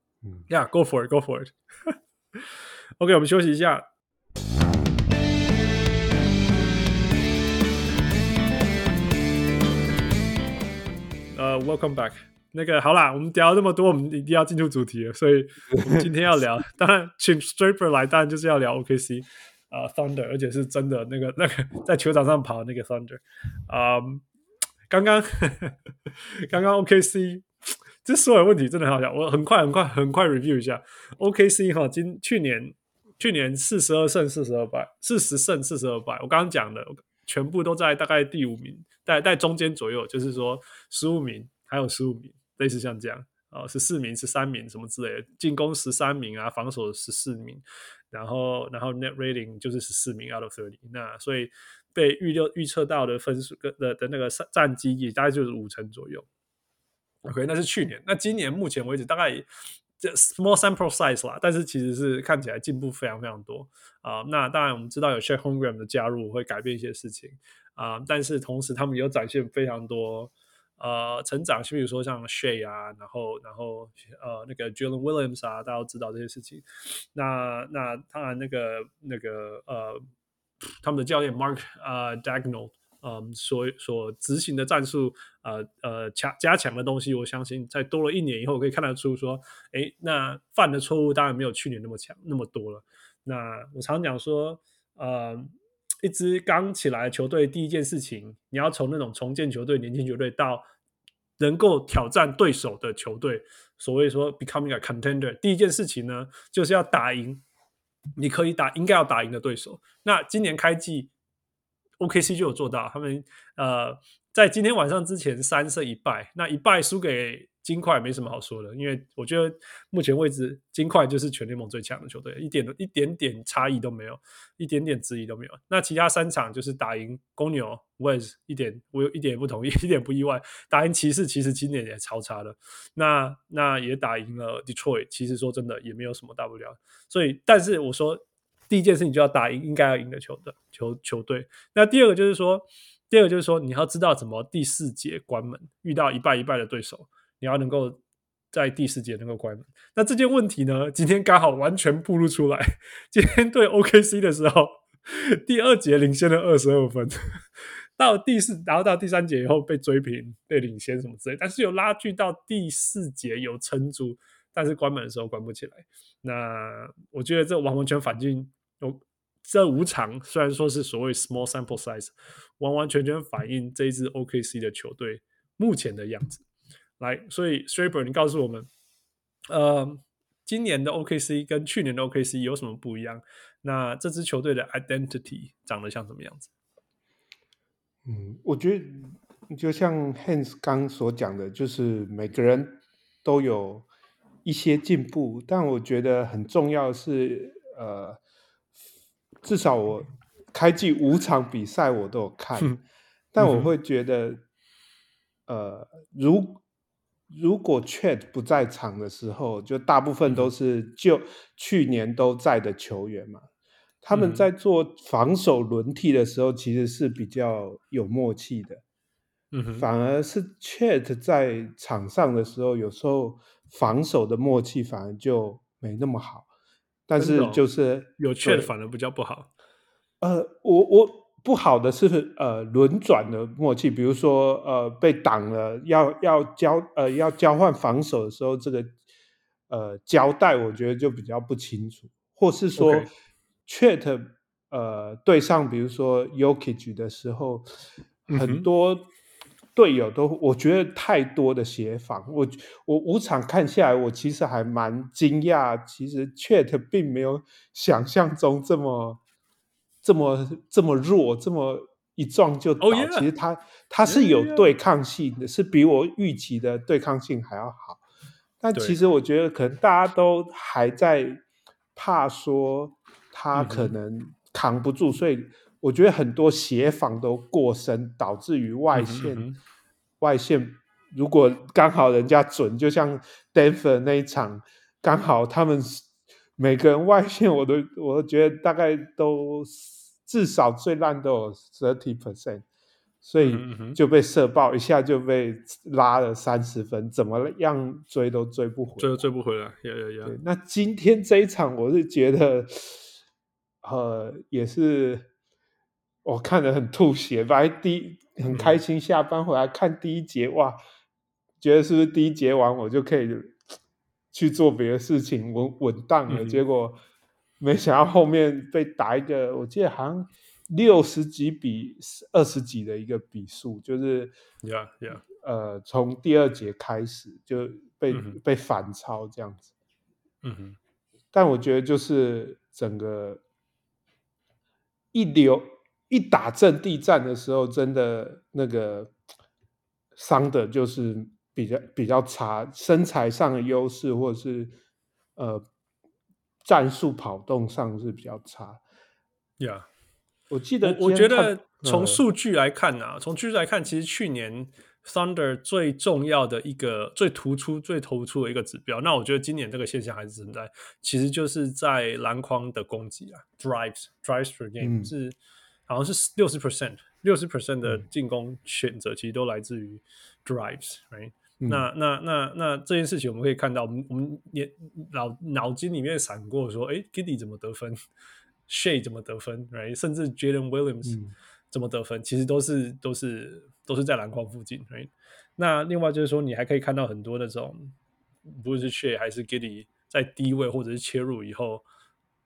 ，Go for it OK， 我們休息一下。Welcome back。那個好啦，我們聊了這麼多，我們一定要進入主題了，所以我們今天要聊，當然請 Straper 來，當然就是要聊 OKC。Thunder， 而且是真的那個在球場上跑的那個 Thunder， 剛剛 OKC， 這所有問題真的很好笑，我很快 review 一下 OKC 哈，去年42勝42敗，40勝42敗，我剛剛講的全部都在大概第5名，在中間左右，就是說15名還有15名，類似像這樣14名、13名什麼之類的，進攻13名啊，防守14名。然後 net rating 就是14名 out of 30， 那所以被預測到的分數的那個戰績也大概就是50%左右。OK， 那是去年。那今年目前為止大概small sample size 啦，但是其實是看起來進步非常非常多那當然我們知道有 Chet Holmgren 的加入會改變一些事情但是同時他們有展現非常多成長，比如說像 Shea 啊，然後那個 Jalen Williams 啊，大家都知道這些事情。那當然那個他們的教練 Mark Daigneault 所執行的戰術加強的東西，我相信在多了1年以後可以看得出說，那犯的錯誤當然沒有去年那麼多了。那我常講說一支剛起來的球隊，第一件事情，你要從那種重建球队、年輕球隊到能夠挑戰對手的球隊，所謂說 becoming a contender， 第一件事情呢，就是要打贏你可以应该要打贏的对手。那今年開季 OKC 就有做到，他們在今天晚上之前3勝1敗，那1敗輸給金塊沒什麼好說的，因為我覺得目前為止金塊就是全聯盟最強的球隊，一點點差異都沒有，一點點質疑都沒有。那其他3場就是打贏公牛 West 我一點也不同意，一點不意外，打贏骑士其實今年也超差的，那也打贏了 Detroit， 其實说真的也沒有什麼大不了。所以但是我說第一件事情就要打贏应該要贏的球队。那第二個就是說你要知道怎么第4节關門，遇到一敗的对手，你要能夠在第4節能夠關門。那這件問題呢，今天剛好完全暴露出來。今天對 OKC 的時候，第2節領先了22分，然後到第3節以後被追平，被領先什麼之類，但是有拉鋸到第4節有撐住，但是關門的時候關不起來。那我覺得這完完全反映這5場雖然說是所謂 small sample size， 完完全全反映這一支 OKC 的球隊目前的樣子。來，所以 Straber 你告訴我們今年的 OKC 跟去年的 OKC 有什麼不一樣？那這支球隊的 identity 長得像什麼樣子？ 我覺得就像 Hans 剛所講的，就是每個人都有一些進步，但我覺得很重要的是至少我開季5場比賽我都有看，但我會覺得如果 Chet 不在場的時候，就大部分都是就去年都在的球員嘛，他們在做防守輪替的時候其實是比較有默契的，反而是 Chet 在場上的時候，有时候防守的默契反而就沒那麼好。但是就是有 Chet 反而比較不好。 我不好的是輪轉的默契，比如說被擋了要交換防守的時候，這個交代我覺得就比較不清楚，或是說 Chet 對上比如說 Jokic 的時候，很多隊友都我覺得太多的協防，我5場看下來，我其實還蠻驚訝，其實 Chet 並沒有想象中這麼弱，這麼一撞就倒。其實他是有對抗性的，是比我預期的對抗性還要好。但其實我覺得可能大家都還在怕說他可能扛不住，所以我覺得很多協防都過深，導致於外線如果剛好人家準，就像 Denver 那一場，剛好他們每個人外線我都覺得大概都至少最爛都有 30%， 所以就被射爆，一下就被拉了30分，怎麼樣追都追不回來， 追不回來。 對，那今天這一場我是覺得也是我看得很吐血，本來很開心下班回來看第1節，哇，覺得是不是第1節完我就可以去做別的事情穩當了，結果沒想到後面被打一個我記得好像60幾比20幾的一個比數，就是從第2節開始就被反超這樣子。但我覺得就是整個一打陣地戰的時候，真的那個傷的就是比較差，身材上的優勢或者是戰術跑動上是比較差。我記得我覺得從數據來看从数据來看，其實去年 Thunder 最重要的一個最突出的一個指標，那我覺得今年這個現象還是存在，其實就是在籃筐的攻擊drives per game 是好像是 60% 的進攻選擇其實都來自於 drives， right？那這件事情我們可以看到，我們也腦筋裡面閃過說，Giddey 怎麼得分，Shea 怎麼得分， right？ 甚至 Jalen Williams 怎麼得分，其實都是在籃筐附近， right？ 那另外就是說，你還可以看到很多那種，不論是 Shea 還是 Giddey 在低位或者是切入以後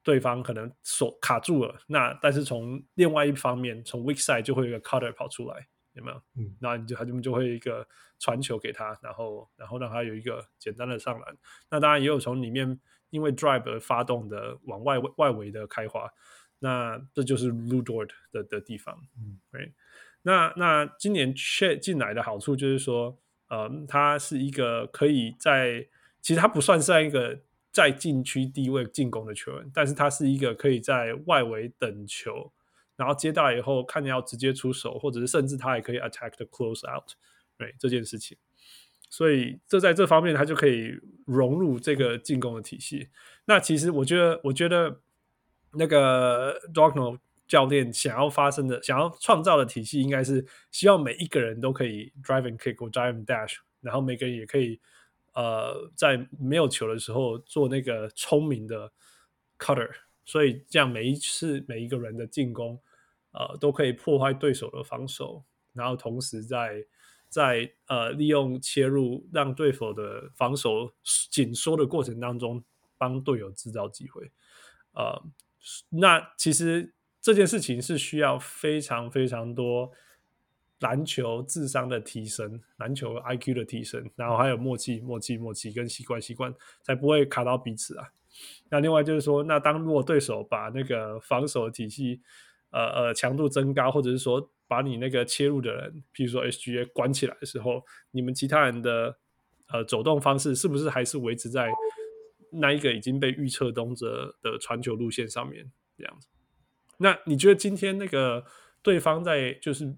對方可能手卡住了，那但是從另外一方面，從 weak side 就會有一個 cutter 跑出來，有沒有？那他們就會一個傳球給他，然後讓他有一個簡單的上籃。那當然也有從裡面因為 drive 而發動的往外圍的開花，那這就是 Lu Dort 的地方。right? 那今年 Chet 進來的好處就是說，他是一個可以其實他不算是一個在禁區低位進攻的球員，但是他是一個可以在外圍等球，然後接到以後看你要直接出手，或者是甚至他也可以 attack the close out， 这件事情。所以在这方面他就可以融入这個進攻的體系。那其實我覺得那個 Darkno 教練想要創造的體系，應該是希望每一個人都可以 drive and kick 或 drive and dash， 然後每個人也可以在沒有球的時候做那個聰明的 cutter， 所以這樣每一次每一個人的進攻都可以破壞對手的防守，然後同時在利用切入讓對手的防守緊縮的過程當中幫隊友制造機會。那其實這件事情是需要非常非常多籃球智商的提升，籃球 IQ 的提升，然後還有默契跟習慣才不會卡到彼此啊。那另外就是說，那如果對手把那個防守的體系強度增高，或者是說把你那個切入的人，譬如說 SGA 關起來的時候，你們其他人的走動方式是不是還是維持在那一個已經被預測動的傳球路線上面這樣子？那你覺得今天那個對方在就是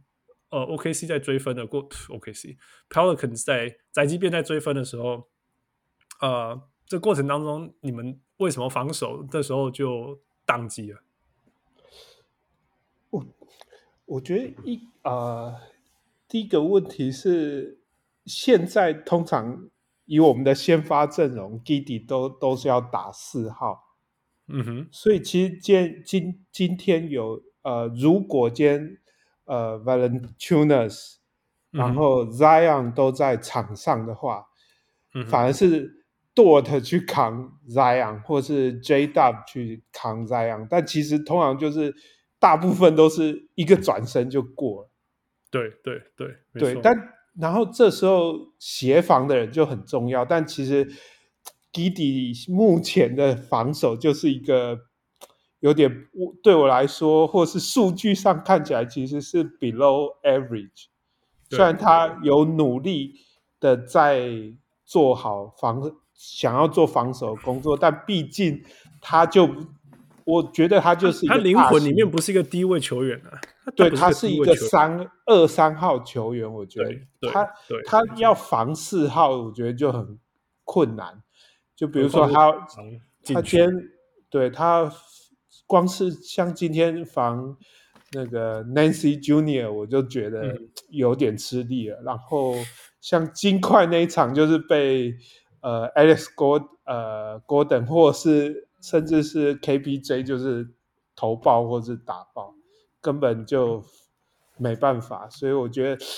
OKC 在追分的OKC Pelicans 在宅急便在追分的時候，這過程當中你們為什麼防守這時候就宕機了？ 我覺得第一個問題是，現在通常以我們的先發陣容 Giddey 都是要打4號，所以其實今天有如果今天Valanciunas 然後 Zion 都在場上的話，反而是 Dort 去扛 Zion 或是 J-Dub 去扛 Zion， 但其實通常就是大部分都是一個轉身就過了。對，但然後這時候協防的人就很重要，但其實 Giddey 目前的防守就是一個有點對我來說，或是數據上看起來其實是 below average。雖然他有努力的在做好想要做防守的工作，但畢竟我覺得他就是一個他靈魂裡面不是一個低位球員啊。 對，他是一個2、3號球員，我覺得他要防4號，我覺得就很困難。就比如說他今天对他光是像今天防那個 Nancy Junior 我就覺得有點吃力了。然後像金塊那一場就是被Alex Gordon 或是甚至是 KPJ 就是投爆或是打爆，根本就沒辦法。所以我覺得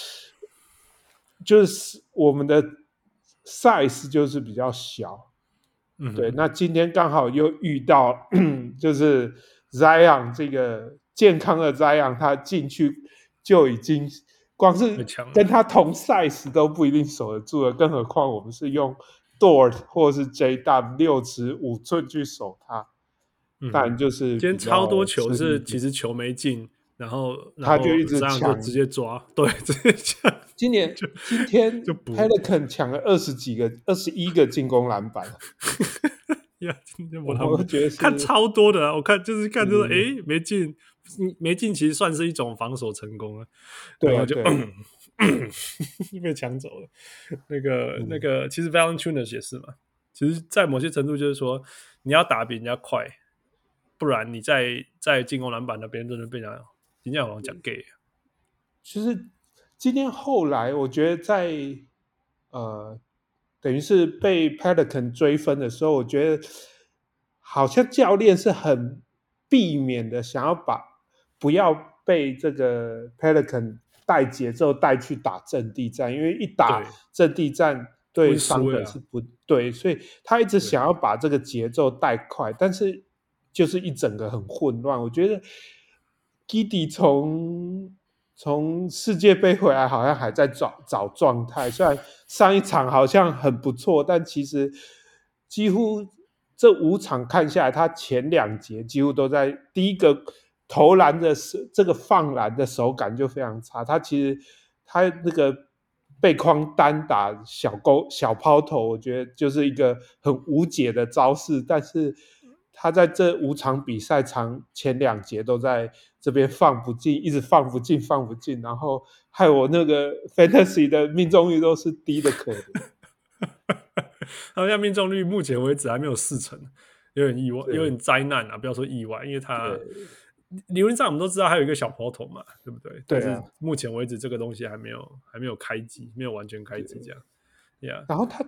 就是我們的 size 就是比較小。对，那今天剛好又遇到就是 Zion 這個健康的 Zion， 他進去就已經光是跟他同 size 都不一定守得住了，更何況我們是用 Dort 或是 J-Dub 6尺5寸去守他。但就是今天超多球是其實球沒進，然後他就一直搶， 就直接抓，對，直接搶。 今天 Pelican 搶了21個進攻籃板。 我覺得看超多的，我看就是沒進，其實算是一種防守成功了。 對啊， 就被搶走了。那個，其實 Valanciunas 也是嘛。其實，在某些程度就是說，你要打比人家快，不然你在進攻籃板那邊真的被人家好像講 gay。 就是今天後來，我覺得在等於是被 Pelican 追分的時候，我覺得好像教練是很避免的，想要不要被這個 Pelican 帶節奏帶去打陣地戰，因為一打陣地戰對傷本是不對，所以他一直想要把這個節奏帶快，但是就是一整個很混亂。我覺得 Giddey 從世界盃回來好像還在找狀態，雖然上一場好像很不錯，但其實幾乎這5場看下來，他前2節幾乎都在第一個投籃的這個放籃的手感就非常差。他其實他那個背框單打小拋投，我覺得就是一個很無解的招式，但是他在這5場比賽前2節都在這邊放不進，一直放不進，然後害我那個 Fantasy 的命中率都是低的可憐。 他现在命中率目前為止還沒有40%，有點意外，有點災難啊！不要說意外，因為他理論上我們都知道還有一個小拋投嘛，對不對？但是目前為止這個東西還沒有開機，沒有完全開機這樣。Yeah. 然後他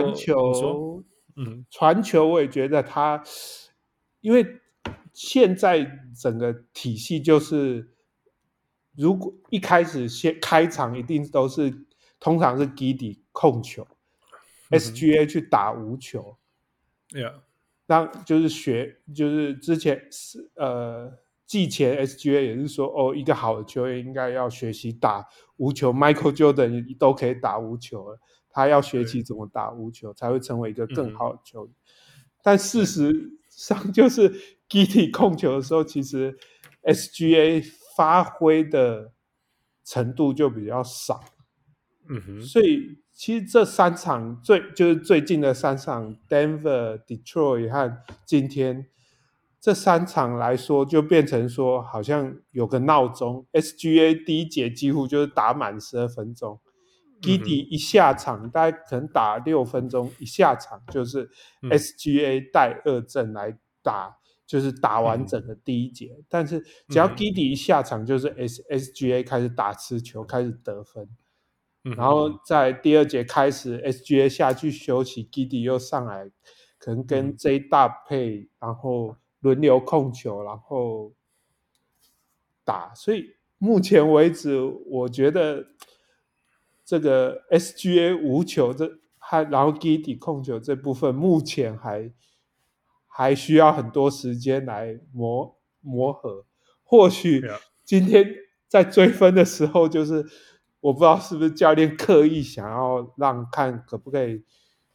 傳球我也覺得他，因為現在整個體系就是，如果一開始先開場一定都是通常是 Giddey 控球。SGA 去打無球，讓就是之前季前 SGA 也是說一個好的球員應該要學習打無球 ，Michael Jordan 都可以打無球了，他要學習怎麼打無球才會成為一個更好的球員。但事實上就是 Giddey 控球的時候，其實 SGA 發揮的程度就比較少，所以。其實這3場就是最近的3場 Denver、Detroit 和今天這3場來說，就變成說好像有個鬧鐘 ，SGA 第一節幾乎就是打滿12分鐘，Giddey 一下場大概可能打6分鐘，一下場就是 SGA 帶2陣來打，就是打完整個第一節。但是只要 Giddey 一下場，就是 SGA 開始打持球，開始得分。然後在第2節開始 SGA 下去休息， Giddey 又上來可能跟 J 搭配，然後輪流控球，然後打。所以目前為止我覺得這個 SGA 無球然後 Giddey 控球這部分目前還需要很多時間來磨合。或許今天在追分的時候就是我不知道是不是教練刻意想要看可不可以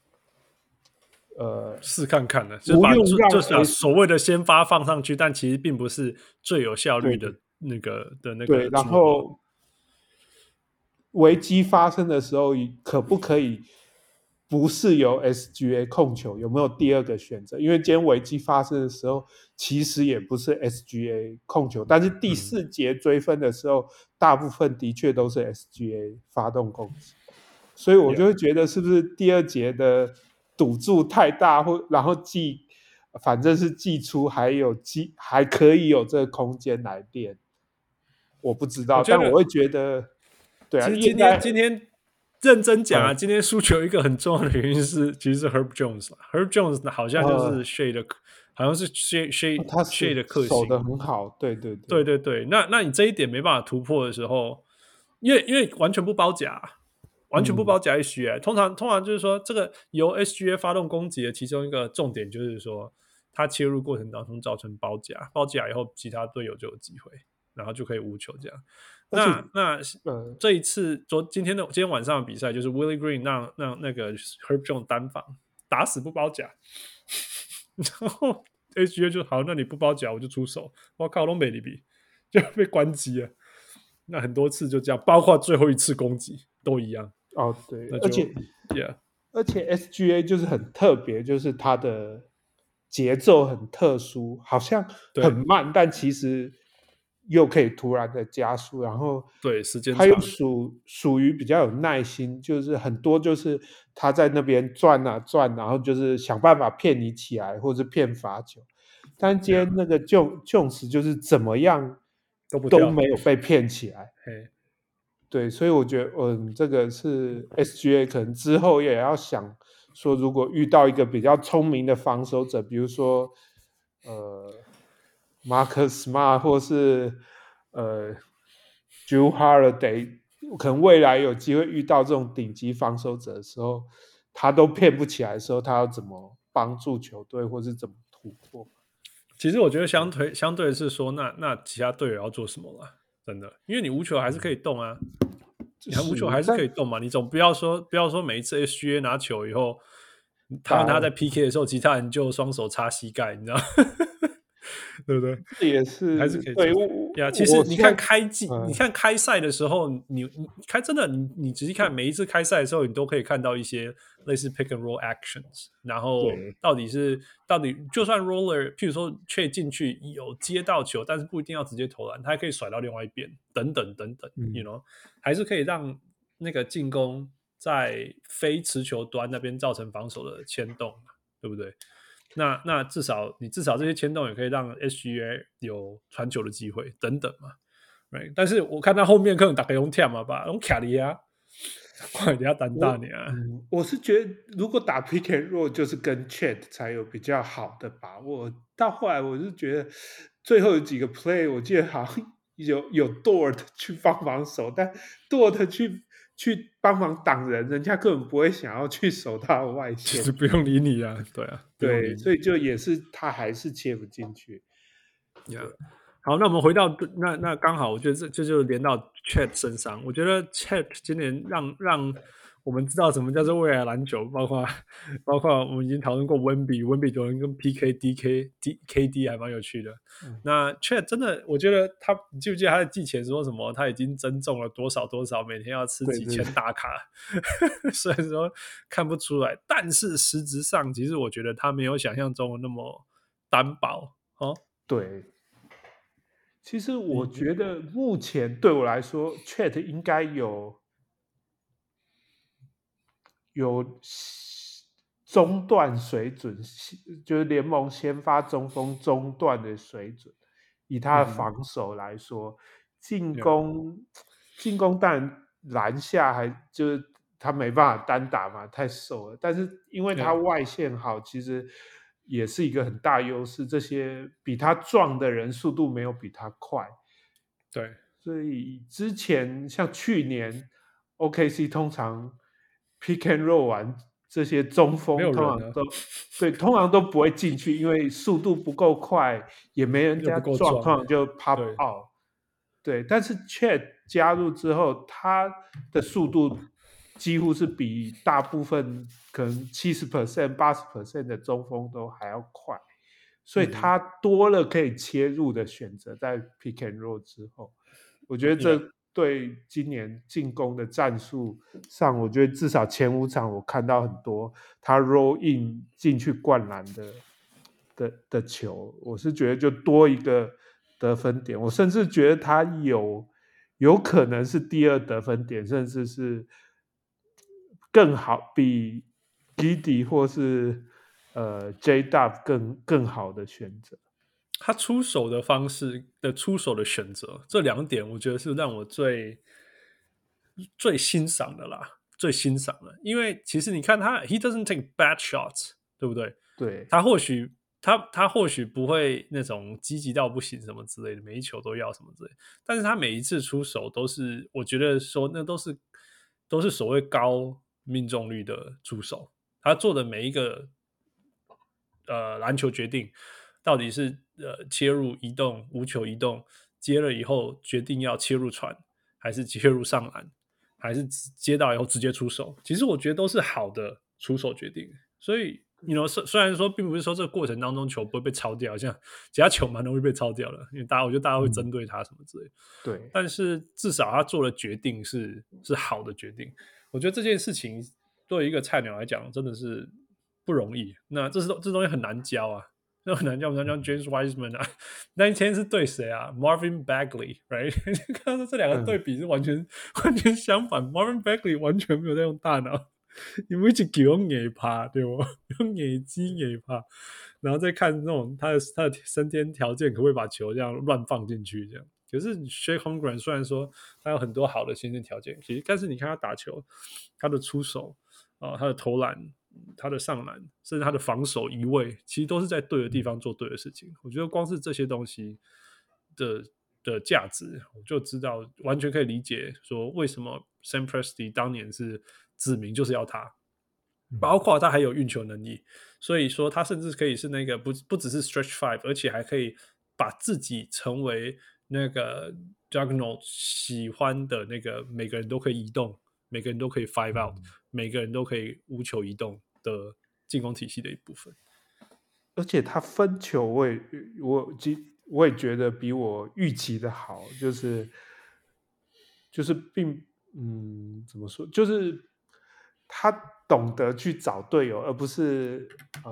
試看看的，就是把所謂的先發放上去，但其實並不是最有效率的那個对，然後危機發生的時候可不可以不是由 SGA 控球，有沒有第2個選擇？因為今天危機發生的時候其實也不是 SGA 控球，但是第4節追分的時候大部分的確都是 SGA 發動攻擊，所以我就會覺得是不是第2節的賭注太大，然後反正是季初還可以有這個空間來練，我不知道，但我會覺得對啊， 其實今天認真講啊，今天輸球一個很重要的原因是，其實是 Herb Jones。Herb Jones 好像就是 Shea 的，好像是 Shea 的克星， 守得很好，对。 那你这一點沒辦法突破的時候，因為完全不包夾，完全不包夾 SGA。通常就是說，這個由 SGA 發動攻擊的其中一個重點就是說，他切入過程當中造成包夾以後，其他隊友就有機會，然後就可以無球這樣。那這一次今天晚上的比賽就是 Willie Green 讓那個 Herb Jones 單防打死不包夾，然後 SGA 就好，那你不包夾我就出手，我靠，都沒理比就被關機了。那很多次就這樣，包括最後一次攻擊都一樣。 對，而且 SGA 就是很特別，就是他的節奏很特殊，好像很慢，但其實又可以突然的加速，然後对时间他又屬於比較有耐心，就是很多就是他在那邊轉啊轉，然後就是想辦法騙你起來，或者騙罰球。但今天那個 Jones 就是怎麼樣都沒有被騙起來。對，所以我覺得這個是 SGA 可能之後也要想說，如果遇到一個比較聰明的防守者，比如說Marcus Smart 或是Jrue Holiday， 可能未來有機會遇到這種頂級防守者的時候，他都騙不起來的時候，他要怎麼幫助球隊，或是怎麼突破？ 其實我覺得相對是說，那其他隊友要做什麼了？真的，因為你無球還是可以動啊，你无球还是可以动嘛。你总不要说每一次 SGA 拿球以後，他在 PK 的時候，其他人就双手插膝蓋，你知道？对不对？ 这也是还是可以对呀。其實你看你看開賽的時候，你真的你仔細看每一次開賽的時候，你都可以看到一些類似 pick and roll actions， 然後到底就算 roller， 譬如說卻進去有接到球，但是不一定要直接投籃，他還可以甩到另外一邊，等等，you know， 還是可以讓那個進攻在非持球端那邊造成防守的牽動，對不對？那至少這些牽動也可以讓 SGA 有傳球的機會等等嘛， right？ 但是我看到後面可能大家用跳嘛吧，用卡利亞，快點單大你啊！ 我是覺得如果打 pick and roll 就是跟 Chet 才有比較好的把握。到後來我是覺得最後有幾個 play， 我記得好像有 Dort 去幫忙守，但 Dort 去幫忙擋人，人家根本不會想要去守他的外線， 就是不用理你啊，對啊， 對，所以就也是他還是切不進去。 Yeah. 好，那我們回到那剛好，我覺得這就連到 Chet 身上。我覺得 Chet 今年讓我們知道什麼叫做未來籃球，包括我們已經討論過溫比有人跟 PK、KD 還蠻有趣的。那 Chet 真的，我覺得你記不記得他在季前說什麼？他已經增重了多少，每天要吃幾千大卡。雖然說看不出來，但是實質上，其實我覺得他沒有想象中的那麼單薄哦。 對。其實我覺得目前對我來說，Chet 應該有中段水準，就是聯盟先發中鋒中段的水準。以他的防守來說，進攻當然籃下還就是他沒辦法單打嘛，太瘦了。但是因為他外線好，其實也是一個很大優勢。這些比他壯的人速度沒有比他快。 對， 所以之前像去年 OKC 通常 pick and roll 完，這些中鋒通常都不會進去，因為速度不夠快，也沒人家撞，通常就 pop out。對，但是 Chet 加入之後，他的速度幾乎是比大部分可能 70%、80% 的中鋒都還要快。所以他多了可以切入的選擇，在 pick and roll 之後，我覺得這對今年進攻的戰術上，我覺得至少前5場我看到很多他 roll in 進去灌籃的球，我是覺得就多一個得分點，我甚至覺得他有可能是第2得分點，甚至是更好，比 Giddey 或是J-Dub 更好的選擇。 他出手的方式的出手的選擇，這2點我覺得是讓我最欣賞的啦，最欣賞的。因為其實你看他 ，he doesn't take bad shots， 對不對？ 對， 他或許不會那種積極到不行什麼之類的，每一球都要什麼之類的，但是他每一次出手都是，我覺得說那都是所謂高命中率的出手，他做的每一個籃球決定。到底是切入移動無球移動接了以後決定要切入傳，還是切入上籃，還是接到以後直接出手？其實我覺得都是好的出手決定。所以雖然說並不是說這個過程當中球不會被抄掉，像其他球蠻容易被抄掉的，因為我覺得大家會針對他什麼之類的。 對， 但是至少他做的決定是好的決定。我覺得這件事情對於一個菜鳥來講真的是不容易。那這東西很難教啊。那很難叫 James Wiseman 啊，那一天是對誰啊 ？Marvin Bagley，right？ 看到這2個對比是完全相反。Marvin Bagley 完全沒有在用大腦，因為一直用眼趴，對不？用眼睛眼趴，然後再看那種他的先天條件可不可以把球這樣亂放進去這樣。可是 Shea Holmgren 雖然說他有很多好的先天條件，其實但是你看他打球，他的出手他的投籃。他的上籃，甚至他的防守移位，其實都是在對的地方做對的事情。我覺得光是這些東西的價值，我就知道，完全可以理解說為什麼 Sam Presti 當年是指名就是要他。 包括他還有運球能力，所以說他甚至可以是那個不只是 stretch five， 而且還可以把自己成為那個 Juggernaut 喜歡的那個每個人都可以移動，每個人都可以 five out，每個人都可以無球移動的進攻體系的一部分。 而且他分球我也覺得比我預期的好，就是怎麼說，就是他懂得去找隊友，而不是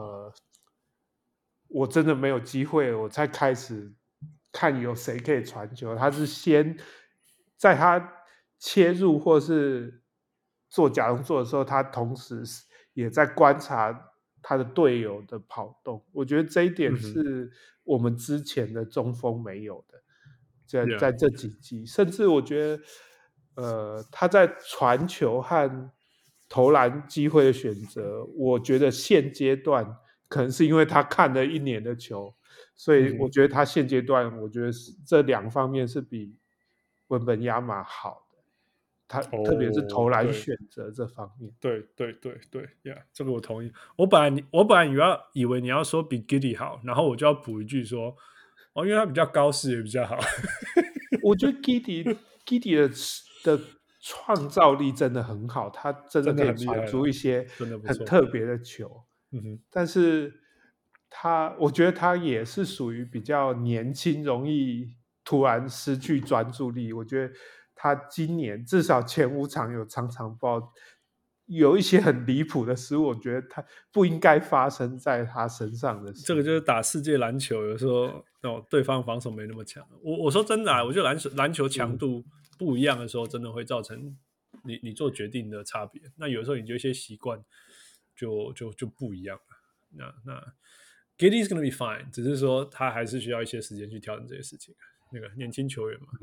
我真的沒有機會我才開始看有誰可以傳球。他是先在他切入或是做假動作的時候，他同時也在觀察他的隊友的跑動。我覺得這一點是我們之前的中鋒沒有的，在這幾季，甚至我覺得他在傳球和投籃機會的選擇，我覺得現階段可能是因為他看了1年的球，所以我覺得他現階段，我觉得這2方面是比文本亞馬好的，他特別是投籃選擇這方面。 對，yeah， 這個我同意。我本來以為你要說比 Giddey 好，然後我就要補一句說，因為他比較高視野比較好。 我覺得 Giddey 的創造力真的很好，他真的可以傳出一些很特別的球。但是我覺得他也是屬於比較年輕，容易突然失去專注力。我覺得他今年至少前5場有常常有一些很離譜的失誤，我覺得他不應該發生在他身上的事。 這個就是打世界籃球，有時候對方防守沒那麼強。我說真的我覺得籃球強度不一樣的時候，真的會造成你做決定的差別。那有時候你就一些習慣就不一樣了。那 Giddey's gonna be fine， 只是說他還是需要一些時間去調整這些事情。那個年輕球員嘛。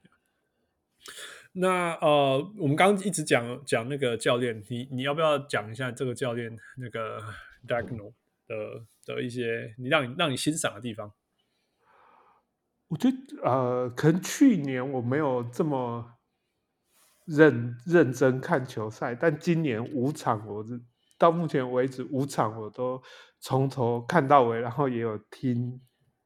那我們剛剛一直講那個教練，你要不要講一下這個教練那個 Daigneault 的一些讓你欣賞的地方？ 我覺得可能去年我沒有這麼認真看球賽，但今年5場到目前為止5場我都從頭看到尾，然後也有听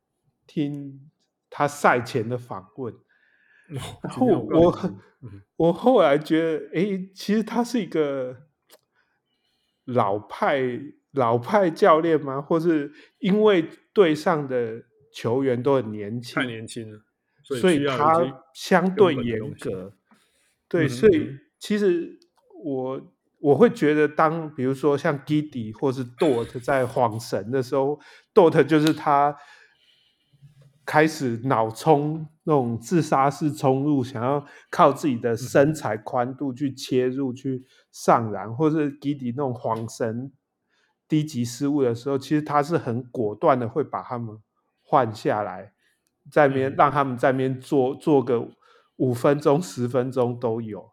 他賽前的訪問。然後我後來覺得，其實他是一個老派教練嗎？或是因為隊上的球員都很年輕， 太年輕了， 所以他相對嚴格。對，所以其實我會覺得，比如說像 Giddey 或是 Dort 在晃神的時候，Dort 就是他開始腦衝那種自殺式衝入，想要靠自己的身材寬度去切入去上籃，或是 Giddey 那種晃神低級失誤的時候，其實他是很果斷的會把他們換下來，在那邊讓他們在那邊做個5分鐘10分鐘都有。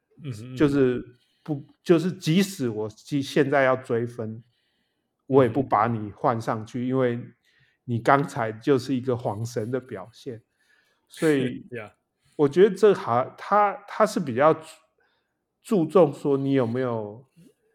就是即使我現在要追分，我也不把你換上去，因為你剛才就是一個晃神的表現。所以我覺得他是比較注重說你有沒有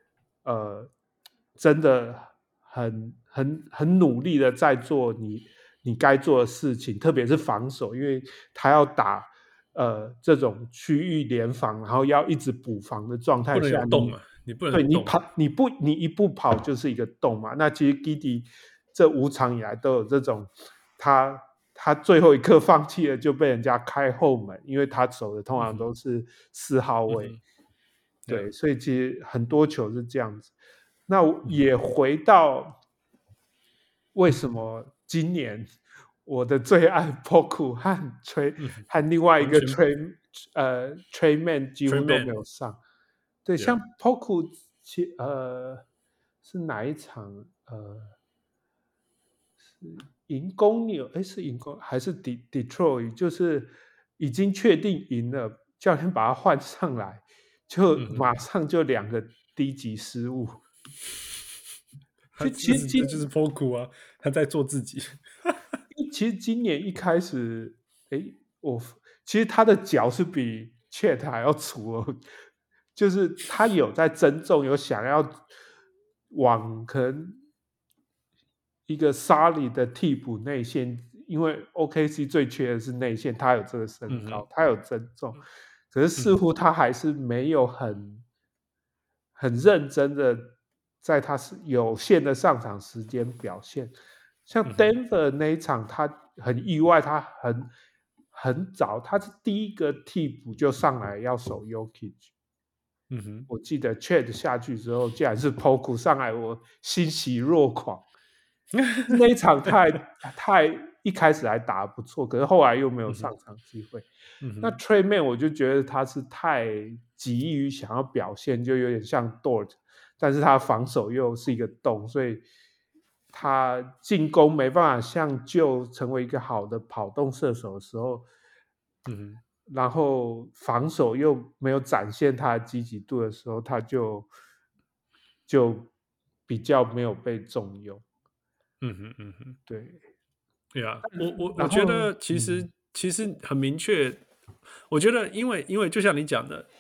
真的很努力的在做你該做的事情，特別是防守，因為他要打這種區域聯防，然後要一直補防的狀態下， 不能有洞嘛，你不能有洞， 你一步跑就是一個洞嘛。那其實 Giddey 這5場以來都有這種，他最後一刻放棄了，就被人家開後門，因為他走的通常都是4號位。對，所以其實很多球是這樣子。那也回到為什麼今年我的最愛 Poku 和另外一個 Tre Mann 幾乎都沒有上。對，像 Poku 是哪一場？是贏公牛？是贏公還是 Detroit？ 就是已經確定贏了，教練把他換上來，就馬上就2個低級失誤。 其實就是 Poku 啊，他在做自己。 其實今年一開始，其實他的腳是比 Chet 還要粗哦，就是他有在增重，有想要往可能一個 solid 的替補內線，因為 OKC 最缺的是內線，他有這個身高，他有增重，可是似乎他還是沒有很認真的在他有限的上場時間表現。像 Denver 那一場，他很意外，他很早，他是第一個替補就上來要守 Jokic。我記得 Chet 下去之後，竟然是 Poku 上來，我欣喜若狂。那一場太一開始還打得不錯，可是後來又沒有上場機會。那 Tre Mann 我就覺得他是太急於想要表現，就有點像 Dort， 但是他防守又是一個洞，所以他進攻沒辦法像就成為一個好的跑動射手的時候，然後防守又沒有展現他的積極度的時候，他就比較沒有被重用。对， 对啊，我覺得其實很明確，我覺得因為就像你講的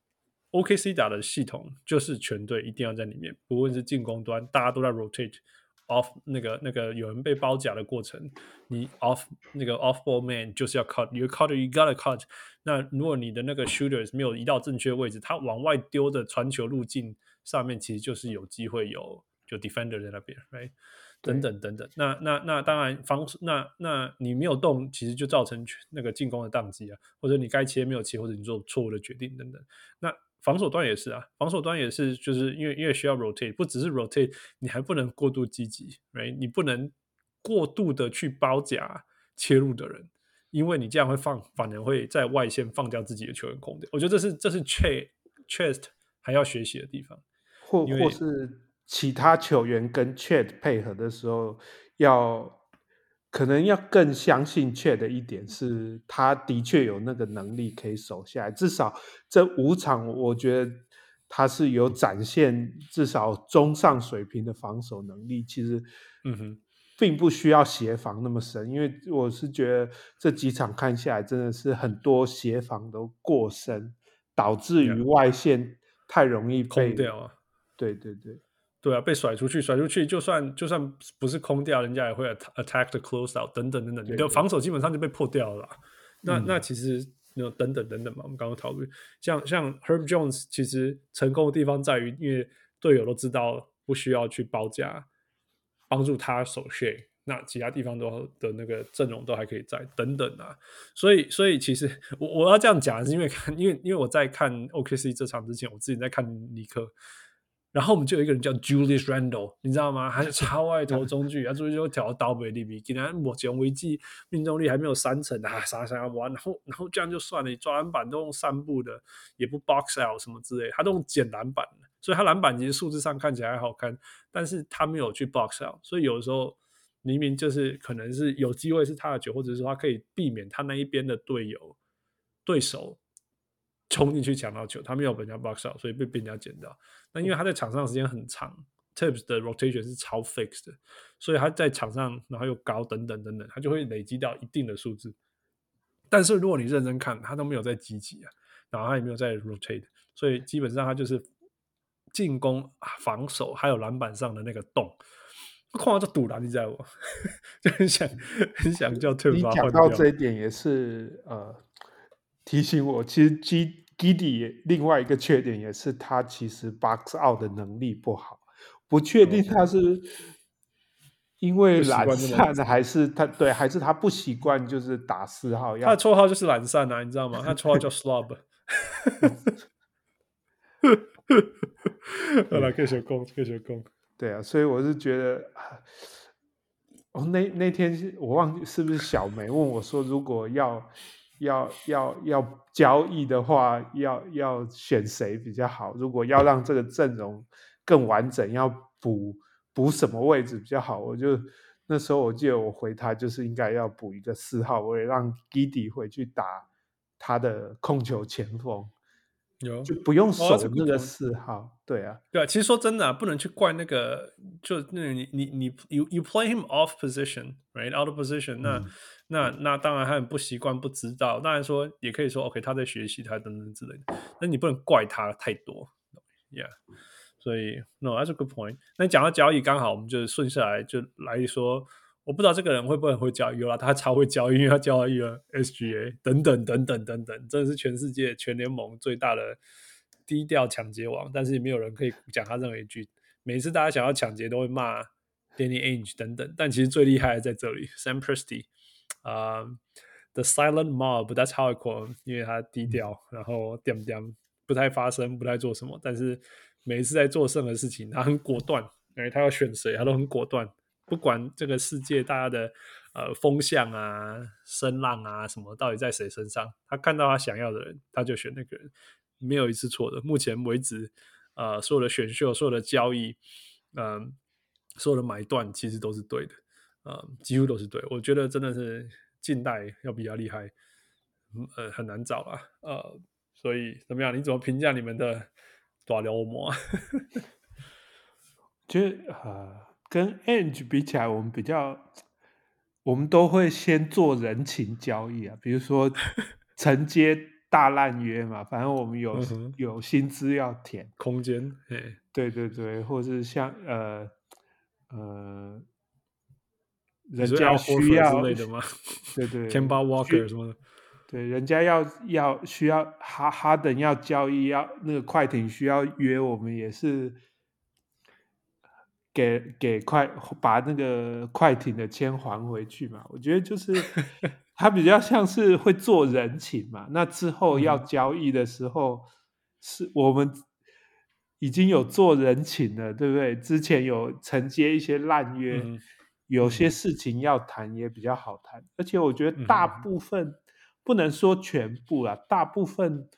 ，OKC 打的系統就是全隊一定要在裡面，不論是進攻端，大家都在 rotate off 那個有人被包夾的過程，你 off 那個 off ball man 就是要 cut，you gotta cut。那如果你的那個 shooters 沒有移到正確位置，他往外丟的傳球路徑上面其實就是有機會就 defender 在那邊 ，right？等等等等，那當然那你沒有動，其實就造成那個進攻的宕機啊，或者你該切沒有切，或者你做錯誤的決定等等。那防守端也是啊，防守端也是，就是因為需要 rotate， 不只是 rotate， 你還不能過度積極 ，right？ 你不能過度的去包夾切入的人，因為你這樣反而會在外線放掉自己的球員空間。我覺得這是 Chest 還要學習的地方，或是其他球員跟 Chet 配合的時候，可能要更相信 Chet 的一點是，他的確有那個能力可以守下來。至少這5場，我覺得他是有展現至少中上水平的防守能力。其實，並不需要協防那麼深，因為我是覺得這幾場看下來，真的是很多協防都過深，導致於外線太容易被空掉啊。 對啊，被甩出去，就算不是空掉，人家也會 attack the closeout 等等，你的防守基本上就被破掉了啦。那其實等等嘛，我們剛剛討論，像 Herb Jones 其實成功的地方在於，因為隊友都知道不需要去包夾，幫助他守 shea， 那其他地方的那個陣容都還可以在等等啊。所以其實我要這樣講，是因為我在看 OKC 這場之前，我自己在看尼克。然後我們就有一個人叫 Julius Randle， 你知道嗎？他是超愛投中距，他中距就調到刀背裡面，竟然目前為止命中率還沒有30%啊，啥要玩，然後這樣就算了，你抓籃板都用散步的，也不 box out 什麼之類，他都用撿籃板的，所以他籃板其實數字上看起来還好看，但是他沒有去 box out， 所以有的時候明明就是可能是有機會是他的球，或者是說他可以避免他那一邊的對手衝進去搶到球，他沒有被人家 box out， 所以被人家撿到。那因為他在場上的時間很長 ，Tibbs 的 rotation 是超 fixed 的，所以他在场上然后又高等等，他就会累積到一定的數字。但是如果你認真看，他都沒有在積極啊，然後他也沒有在 rotate， 所以基本上他就是進攻、防守還有籃板上的那個洞。看到這堵籃，你知道我就很想叫 Tibbs 把他換掉。 你講到這一點也是提醒我，其實 Giddey 另外一個缺點也是他其實 box out 的能力不好，不確定他是因為懶散還是他不習慣就是打4號。 他的綽號就是懶散啊，你知道嗎？他的綽號叫 Slob。好了，繼續講。 對啊，所以我是覺得，那天我忘記是不是小梅問我說，如果要交易的話，要選誰比較好？如果要讓這個陣容更完整，要補什麼位置比較好？那時候我記得我回他就是應該要補一個4號位，讓 Giddey 回去打他的控球前鋒。就不用守那個4號，對啊， 其實說真的不能去怪那個，就那你 you play him off position, right, out of position， 那當然他很不習慣，不知道，當然說也可以說 OK 他在學習，他等等之類的，那你不能怪他太多 ，yeah， 所以 that's a good point。那講到交易，剛好我們就順下來就來說，我不知道這個人會不會很會交易，有啦，他超會交易，因為他交易了 SGA 等等等等等等，真的是全世界全聯盟最大的低調搶劫王，但是也沒有人可以講他任何一句。每次大家想要搶劫都會罵 Danny Ainge 等等，但其實最厲害的在這裡 Sam Presti。The silent mob, that's how I call him， 因為他低調，然後點點不太發聲，不太做什麼，但是每一次在做任何事情，他很果斷，他要選誰，他都很果斷，不管這個世界大家的風向啊、聲浪啊什麼，到底在誰身上，他看到他想要的人，他就選那個人，沒有一次錯的。目前為止，所有的選秀、所有的交易，所有的買斷，其實都是对的，幾乎都是对。我覺得真的是。近代要比較厲害，很難找啦，所以怎麼樣？你怎麼評價你們的大流氓？ 覺得跟 Ainge 比起來，我們都會先做人情交易啊，比如說承接大爛約嘛，反正我們有薪資要填， 空間， 對對對，或是像人家需要之類的嗎？ 对对 ，Kemba Walker 什麼的， 對，人家需要哈登要交易，要那個快艇需要約，我們也是把那個快艇的錢還回去嘛。我覺得就是他比較像是會做人情嘛。那之後要交易的時候，是我們已經有做人情了，對不對？之前有承接一些爛約。有些事情要談也比較好談，而且我覺得大部分不能說全部啦，大部分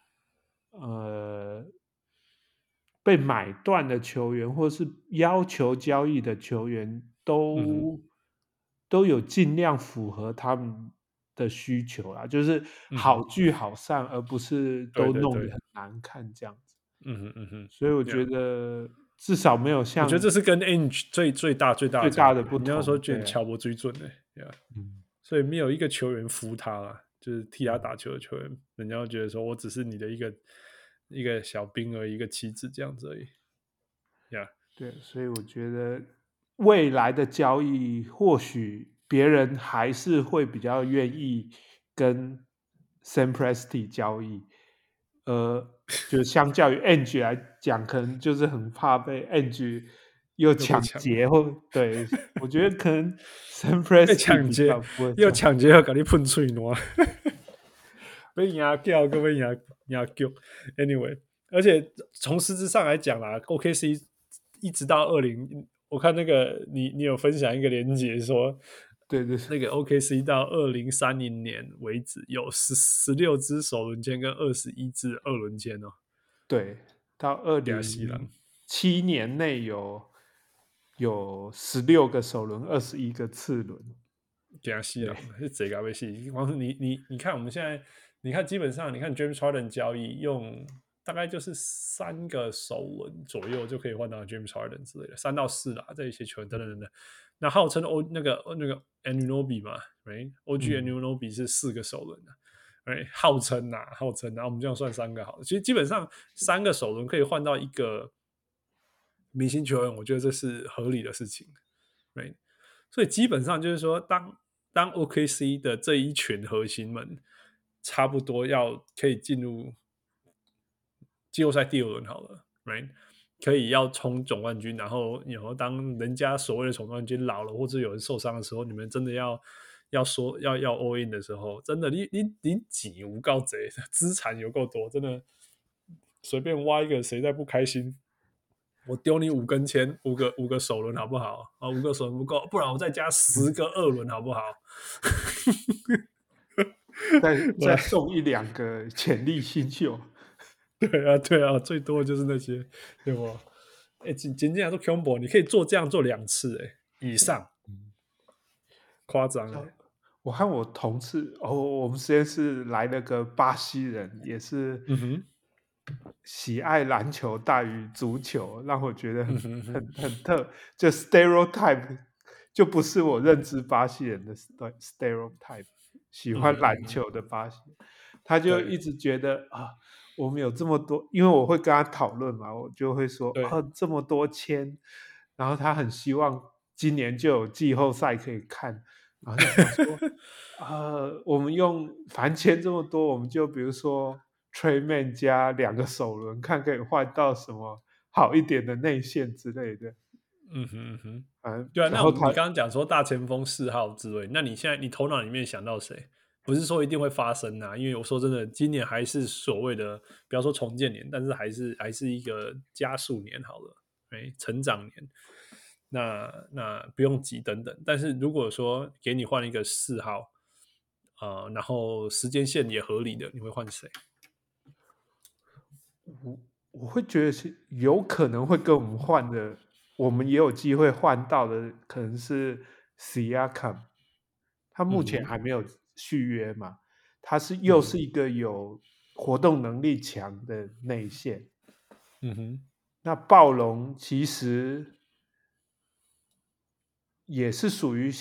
被買斷的球員或是要求交易的球員都有盡量符合他們的需求啦，就是好聚好散，而不是都弄得很難看這樣子。所以我覺得。至少沒有像， 我覺得這是跟 Ainge 最大的不同。你要說覺得喬博最準的，所以沒有一個球員服他啦，就是替他打球的球員，人家會覺得說我只是你的一個小兵而已，一個棋子這樣子而已。 對，所以我覺得未來的交易，或許別人還是會比較願意跟 Sam Presti 交易。就相較於 Ainge 來講，可能就是很怕被 Ainge 又搶劫或對，我覺得可能 Sam Presti 搶劫又搶劫又給你噴嘴暖，被壓掉，各位壓掉。Anyway， 而且從實質上來講啦 ，OKC 一直到我看那個你有分享一個連結說。對，那個 OKC 到2030年為止有16支首輪籤跟21支二輪籤哦。對， 到2007年內有16個首輪，21個次輪。 驚死了，是這個遊戲。光是你看我們現在，你看基本上你看 James Harden 交易用大概就是3個首輪左右就可以換到 James Harden 之類的，3到4啦，這一些球員等等。那號稱那個 Anunoby 嘛 ，right？OG Anunoby 是4個首輪的，right？ 號稱啊，我們這樣算3個好了。其實基本上3個首輪可以換到一個明星球員，我覺得這是合理的事情 ，right？ 所以基本上就是說，當 OKC 的這一群核心們差不多可以進入季後賽第2輪好了 ，right？可以要衝總冠軍，然後當人家所謂的總冠軍老了，或者有人受傷的時候，你們真的要 all in 的時候，真的你錢有夠多，資產有夠多，真的隨便挖一個，誰再不開心？我丟你5根籤，5個首輪好不好？5個首輪不夠，不然我再加10個二輪好不好？ 再送1-2個潛力新秀。 對啊，最多就是那些，對不？僅僅來說 combo 你可以這樣做2次，以上，誇張。 我和我同事，我們實驗室來了個巴西人，也是喜愛籃球大於足球，讓我覺得很特，就 stereotype 就不是我認知巴西人的 stereotype， 喜歡籃球的巴西人，他就一直覺得我們有這麼多，因為我會跟他討論嘛，我就會說這麼多簽，然後他很希望今年就有季後賽可以看，然後就想說我們反正簽這麼多，我們就比如說 Trey Man 加2個首輪，看可以換到什麼好一點的內線之類的。 對啊，那你剛剛講說大前鋒4號之類，那你現在你頭腦裡面想到誰？不是說一定會發生啊，因為我說真的，今年還是所謂的不要說重建年，但是還是一個加速年好了，成長年。那不用急等等，但是如果說給你換一個4號，然後時間線也合理的，你會換誰？ 我會覺得是有可能會跟我們換的，我們也有機會換到的，可能是 Siakam， 他目前還沒有續約嘛，他又是一個有活動能力強的內線。那暴龍其實也是屬於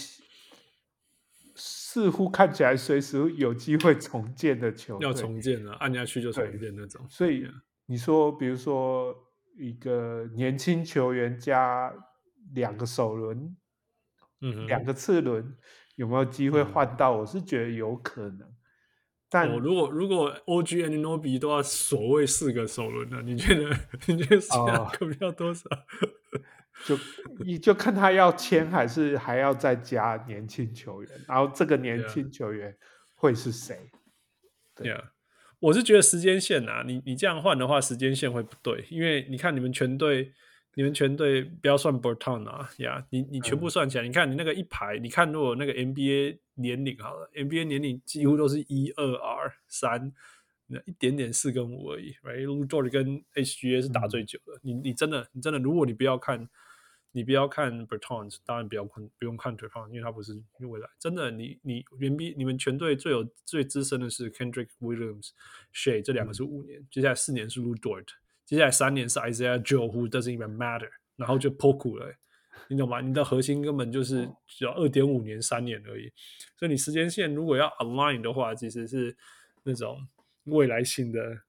似乎看起來隨時有機會重建的球隊， 要重建了，按下去就重建那種。 所以你說，比如說一個年輕球員加2個首輪，2個次輪，有沒有機會換到？我是覺得有可能。但如果 OG Anunoby 都要所謂4個首輪了，你覺得Siakam要多少？ 就看他要簽還是還要再加年輕球員，然後這個年輕球員會是誰？ 對啊，我是覺得時間線啊，你這樣換的話，時間線會不對，因為你看你們全隊不要算 Bertan 啊，你全部算起來，你看你那個一排，你看如果那個 NBA 年齡好了 ，NBA 年齡幾乎都是1、2、R、3，那一點點4跟5而已 ，right？Lu Dort 跟 HGA 是打最久的，你真的，如果你不要看 Bertans， 當然不用看 Bertans， 因為他不是未來。真的，你們全隊最資深的是 Kendrick Williams、Shai， 這2個是5年，接下來4年是 Lu Dort， 接下來3年是 Isaiah Joe，who doesn't even matter， 然後就 Poku 了，你懂嗎？你的核心根本就是只要 2.5 年、3年而已。所以你时間線如果要 align 的話，其實是那種未來性的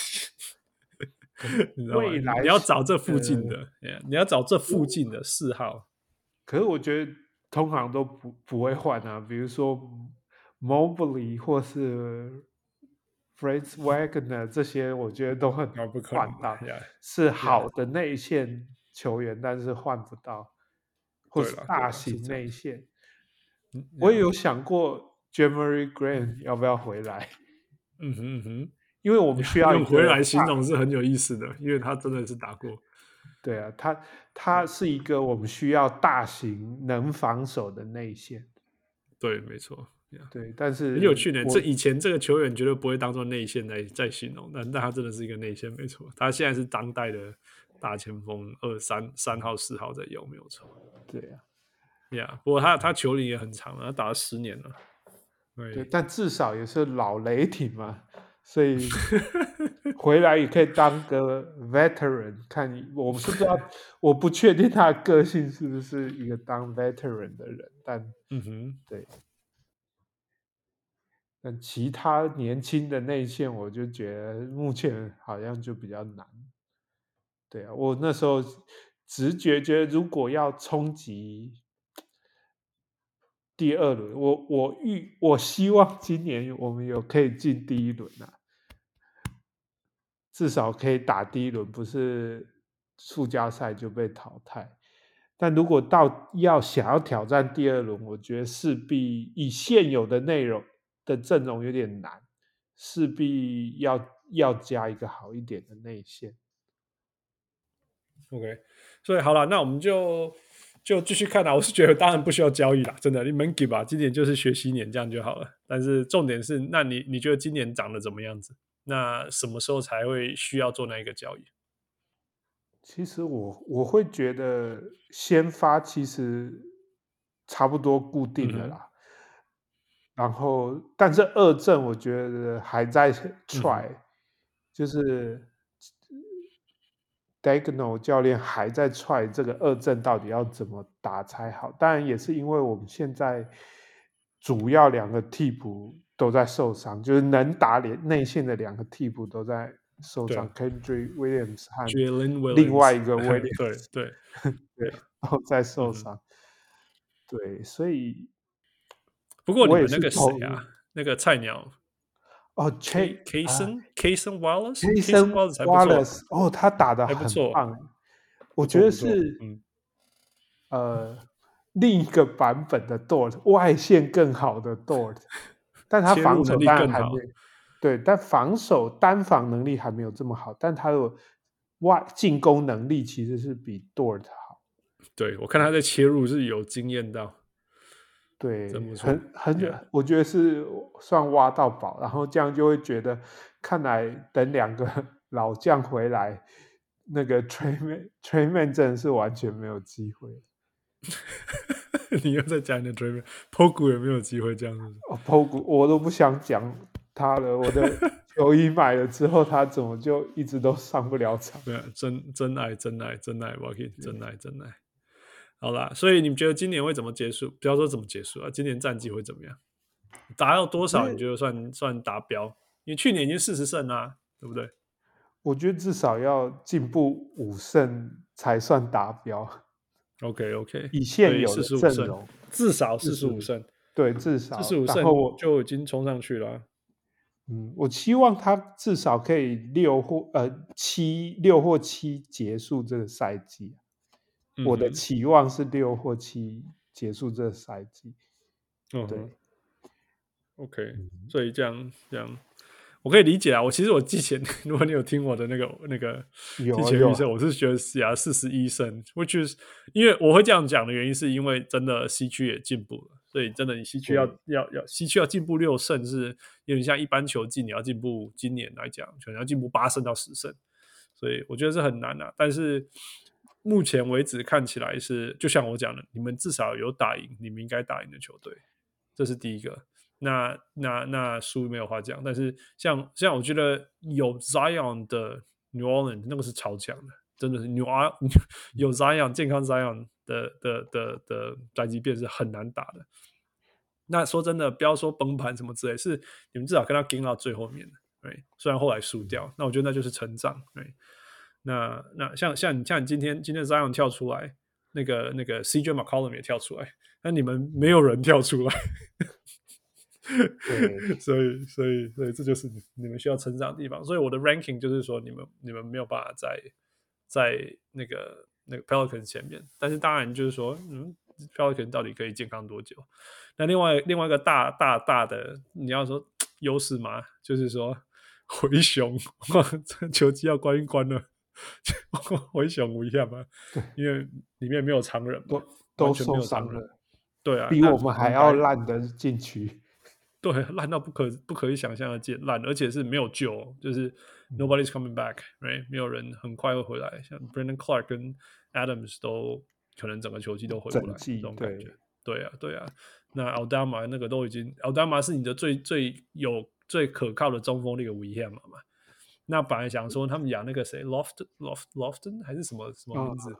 你知道嗎？你要找這附近的，你要找這附近的4號。 可是我覺得通常都不會換啊，比如說 Mobley 或是 Franz Wagner 這些，我覺得都很換到，是好的內線球員，但是換不到，或是大型內線。我也有想過 Jeremy Grant 要不要回來。因為我們需要用回來形容是很有意思的，因為他真的是打過。 对啊，他是一個我們需要大型能防守的內線。 對，沒錯。 對，但是很有趣呢。以前這個球員絕對不會當做內線在形容，但他真的是一個內線，沒錯。他現在是當代的大前鋒，3號、4號在用，沒有錯。 對啊， 不過他球齡也很長了，他打了10年了。 對，但至少也是老雷霆嘛。所以回來也可以當個 veteran， 看我是不知道，我不確定他的個性是不是一個當 veteran 的人，但對，但其他年輕的內線，我就覺得目前好像就比較難。對啊，我那時候直覺覺得，如果要衝擊第2輪，我希望今年我們有可以進第1輪啊，至少可以打第1輪，不是附加賽就被淘汰。但如果想要挑戰第2輪，我覺得勢必以現有的內容的陣容有點難，勢必要加一個好一點的內線。 OK， 所以好了，那我們就繼續看啦。我是覺得當然不需要交易啦，真的，你們給吧，今年就是學習年，這樣就好了。但是重點是，那你覺得今年長得怎麼樣子？那什麼時候才會需要做那一個交易？ 其實我會覺得先發其實差不多固定了啦。然後，但是2陣我覺得還在 try，就是 Daigneault 教練還在踹這個二陣到底要怎麼打才好。當然也是因為我們現在主要2個替補都在受傷，就是能打內線的2個替補都在受傷 ，Kendrick Williams 和 Jalen Williams 另外一個 Williams 对都在受傷。对，所以不过你们那个谁啊，那個菜鳥 Cason Wallace 才不錯哦，他打得很棒，我覺得是另一個版本的 Dort， 外線更好的 Dort， 但他防守當然還沒有，對，但單防能力還沒有這麼好，但他的進攻能力其實是比 Dort 好。 對，我看他在切入是有經驗到。 對，我覺得是算挖到寶，然後這樣就會覺得，看來等2個老將回來，那個 Tre Mann 真的是完全沒有機會。 你又在講你的 Tre Mann，Poku 也沒有機會這樣子。 Poku 我都不想講他了，我的球衣買了之後，他怎麼就一直都上不了場？ 對啊，真愛 ，Walking 真愛。好啦，所以你們覺得今年會怎麼結束？不要說怎麼結束啊，今年戰績會怎麼樣？達到多少你覺得算達標？因為去年已經40勝啦，對不對？ 我覺得至少要進步5勝才算達標。 OK， 以現有的陣容， 至少45勝。對，至少 45勝， 然後就已經衝上去了。 我期望他至少可以6或7結束這個賽季。我的期望是6或7結束這個賽季。對 ，OK， 所以這樣，我可以理解啊。其實我之前，如果你有聽我的那個之前預測，我是覺得41勝，which is 因為我會這樣講的原因，是因為真的西區也進步了，所以真的你西區西區要進步6勝，是有點像一般球季你要進步，今年來講可能要進步8勝到10勝，所以我覺得是很難啊。但是目前為止看起來是，就像我講的，你們至少有打贏你們應該打贏的球隊，這是第一個。那輸沒有話講，但是像我覺得有 Zion 的 New Orleans 那個是超強的，真的是有 Zion 健康 Zion 的宅急便是很難打的。那說真的，不要說崩盤什麼之類，是你們至少跟他跟到最後面的，對，雖然後來輸掉，那我覺得那就是成長，對。那像你今天 Zion 跳出來，那個 CJ McCollum 也跳出來，那你們沒有人跳出來，所以這就是你們需要成長的地方。所以我的 ranking 就是說，你們沒有辦法在那個 Pelicans 前面，但是當然就是說，Pelicans 到底可以健康多久？那另外一個大的，你要說優勢嘛，就是說灰熊球季要關一關了。灰熊一下嘛，因為裡面沒有常人嘛， 都受傷了。 對啊， 比我們還要爛的禁區， 對，爛到不可以想象的爛，而且是沒有救，就是 nobody's coming back，right？ 沒有人很快會回來，像 Brandon Clark 跟 Adams 都可能整個球季都回不來，這種感覺。對啊，那 Aldama 那個都已經 ，Aldama 是你的最可靠的中鋒那個威脅嘛。那本來想說他們養那個誰 Lofton 還是什麼名字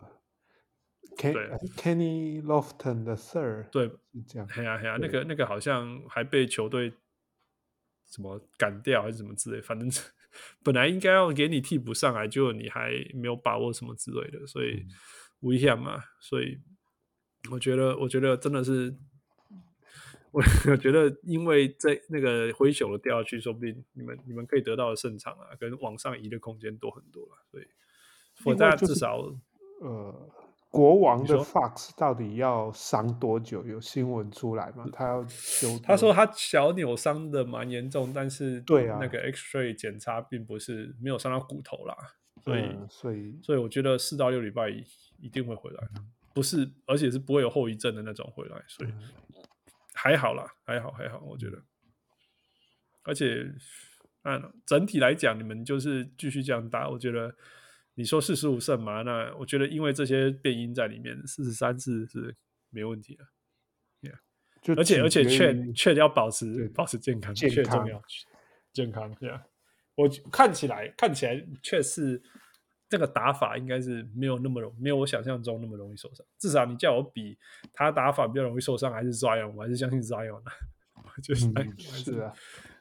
？Kenny Lofton the Third， 對， 是這樣。 嘿啊，那個好像還被球隊什麼趕掉還是什麼之類，反正本來應該要給你替補上來，結果你還沒有把握什麼之類的，所以危險嘛。所以我覺得真的是。我覺得，因為在那個灰熊的掉下去，說不定你們可以得到的勝場啊，跟往上移的空間多很多了。所以，我大家至少國王的 Fox 到底要傷多久？有新聞出來嗎？他要休？ 他說他小扭傷的蠻嚴重，但是對啊， 那個 X-ray 檢查並不是沒有傷到骨頭啦，所以我覺得4到6禮拜一定會回來，不是，而且是不會有後遺症的那種回來，所以。還好啦，還好，我覺得，而且，整體來講，你們就是繼續這樣打，我覺得，你說45勝嘛，那我覺得因為這些變因在裡面，43次是沒問題的，yeah. 而且確要保持健康，確重要，健康，對啊，我看起來確實這個打法應該是沒有我想象中那麼容易受傷。至少你叫我比他打法比較容易受傷，還是 Zion， 我還是相信 Zion 啊。就是、 是啊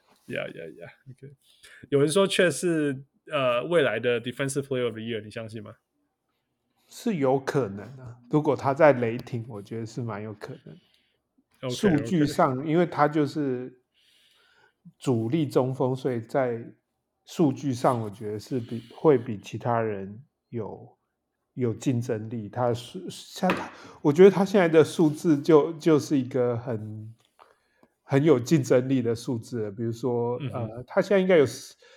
，OK。有人說卻是未來的 Defensive Player of the Year， 你相信嗎？ 是有可能啊，如果他在雷霆，我覺得是蠻有可能。數據上，因為他就是主力中鋒，所以在數據上，我覺得是會比其他人有競爭力。我覺得他现在的數字就是一個很有競爭力的數字了。比如說，他現在應該有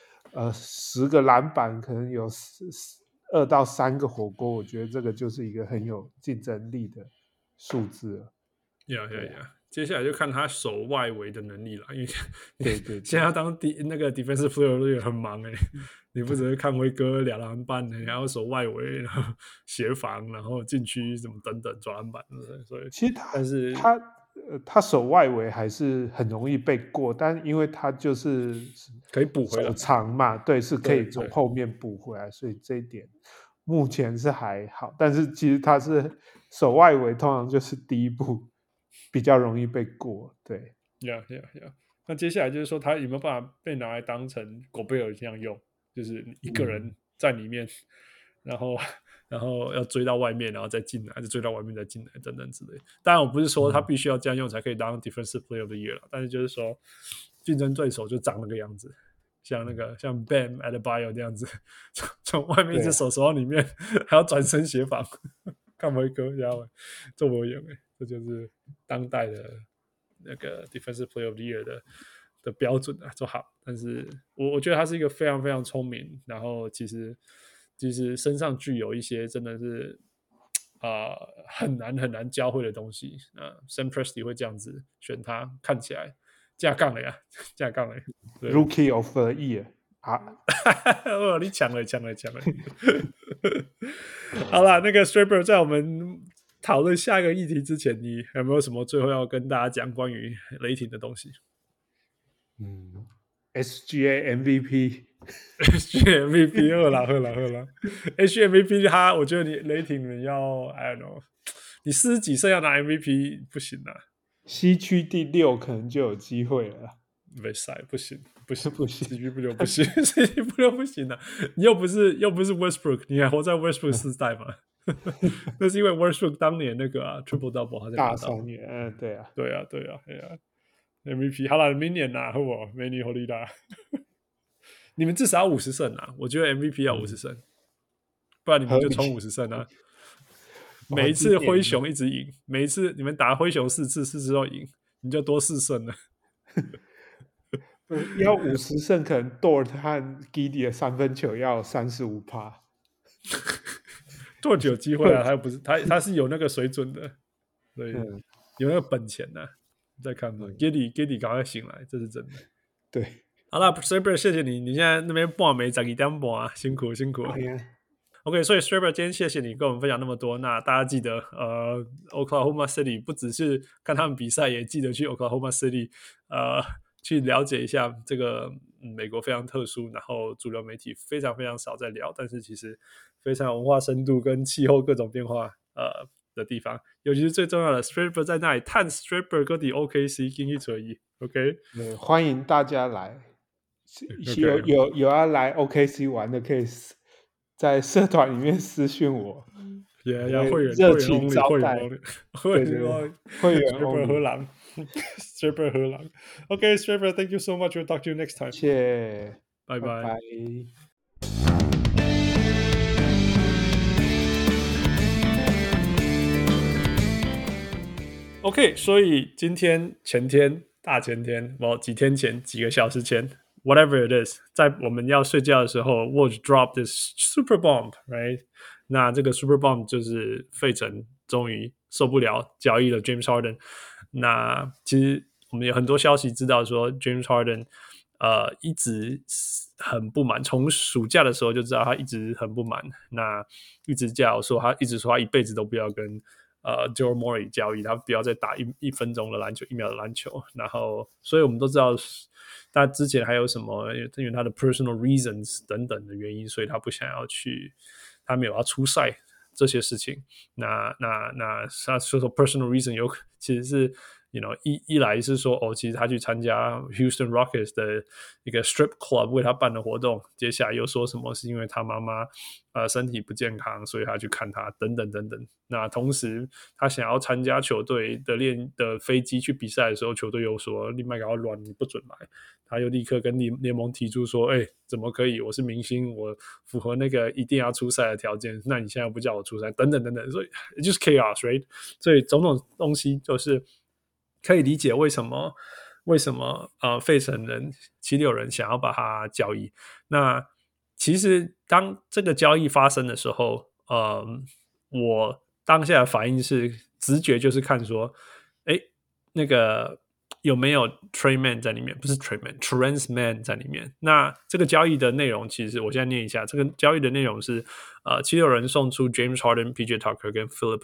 10個籃板，可能有2到3個火鍋，我覺得這個就是一個很有競爭力的數字了。 接下來就看他守外圍的能力了，因为對現在要當那個 defensive player 也很忙你不只是看威哥2籃板，你還要守外圍，然後協防，然後禁區什麼等等抓籃板，所以其實他守外圍還是很容易被過，但因為他就是可以補回來， 手長嘛，對，是可以從後面補回來，所以這一點目前是還好。但是其實他是守外圍，通常就是第一步比較容易被過，對。 那接下來就是說，他有沒有辦法被拿來當成狗貝爾這樣用，就是一個人在裡面，然後要追到外面，然後再進來，再追到外面再進來等等之類。當然，我不是說他必須要這樣用才可以當 Defensive Player of the Year 了，但是就是說，競爭對手就長那個樣子，像Bam Adebayo 這樣子，從外面一隻手到裡面，還要轉身協防，看不會哥，然後這我演這就是當代的那個 Defensive Player of the Year 的標準啊，就好。但是我覺得他是一個非常非常聰明，然後其實身上具有一些真的是很難教會的東西。Sam Presti 會這樣子選他，看起來架槓了呀 ，Rookie of the Year 啊！ 你搶了！好啦，那個 Straber 在我們討論下一個議題之前，你有沒有什麼最後要跟大家講關於雷霆的東西 ？SGA MVP。SGA MVP 喝啦！SGA MVP 我覺得你雷霆人要 I don't know， 你40幾歲要拿 MVP 不行啊。 西區第6可能就有機會了。 沒賽，不行，西區不就不行，西區不就不行了。你又不是 Westbrook， 你還活在 Westbrook 世代嗎？那是因為 Westbrook 當年那個triple double 他在拿到大3年，對啊 ，MVP 好了，明年拿好不好？美女火力大，你們至少要50勝啊！我覺得 MVP 要50勝，不然你們就衝50勝啊！每一次灰熊一直贏，每一次你們打灰熊4次都贏，你就多4勝了。 要50勝，可能 Dort 和 Giddey 的3分球要35%。 Dort 有機會啊，他又不是他是有那個水準的，所以有那個本錢的。再看吧，Giddey 趕快醒來，這是真的。 對， 好了 ，Straber 謝謝你，你現在那邊半暝12點半啊，辛苦。OK， 所以 Straber 今天謝謝你跟我們分享那麼多。那大家記得Oklahoma City 不只是看他們比賽，也記得去 Oklahoma City 去了解一下這個美國非常特殊，然後主流媒體非常非常少在聊，但是其實非常有文化深度跟氣候各種變化的地方，尤其是最重要的 Straber 在那裡探 Straber 各地 OKC 經濟存疑 OK， 歡迎大家來，有要來 OKC 玩的可以在社團裡面私訊我， 要會員熱情招待， 會員 Straber 荷蘭Straber 荷蘭 OK Straber thank you so much, we'll talk to you next time， 謝謝， 拜拜。OK， 所以今天、前天、大前天，幾天前、幾個小時前 ，whatever it is， 在我們要睡覺的時候 ，Woj dropped this super bomb，right？ 那這個 super bomb 就是費城終於受不了，交易了 James Harden。那其實我們有很多消息知道說 ，James Harden 一直很不滿，從暑假的時候就知道他一直很不滿。那一直說他一輩子都不要跟 Daryl Morey 交易，他不要再打一分鐘的籃球，1秒的籃球。然後，所以我們都知道，他之前還有什麼，因为他的 personal reasons 等等的原因，所以他不想要去，他沒有要出賽這些事情。那他說 personal reason 其實是。一來是說其實他去參加 Houston Rockets 的一個 strip club 為他辦的活動，接下來又說什麼是因為他媽媽身體不健康，所以他去看他等等等等。那同時他想要參加球隊的飛機去比賽的時候，球隊又說你別給我亂，你不准來。他又立刻跟聯盟提出說怎麼可以，我是明星，我符合那個一定要出賽的條件，那你現在不叫我出賽等等等等，所以 it's just chaos right。 所以種種東西就是可以理解為什麼費城人76人想要把它交易。那其實當這個交易發生的時候，我當下的反應是直覺就是看說那個有沒有 Tre Mann 在裡面，不是 Terance Mann 在裡面。那這個交易的內容其實我現在念一下，這個交易的內容是76人送出 James Harden、PJ Tucker 跟 Philip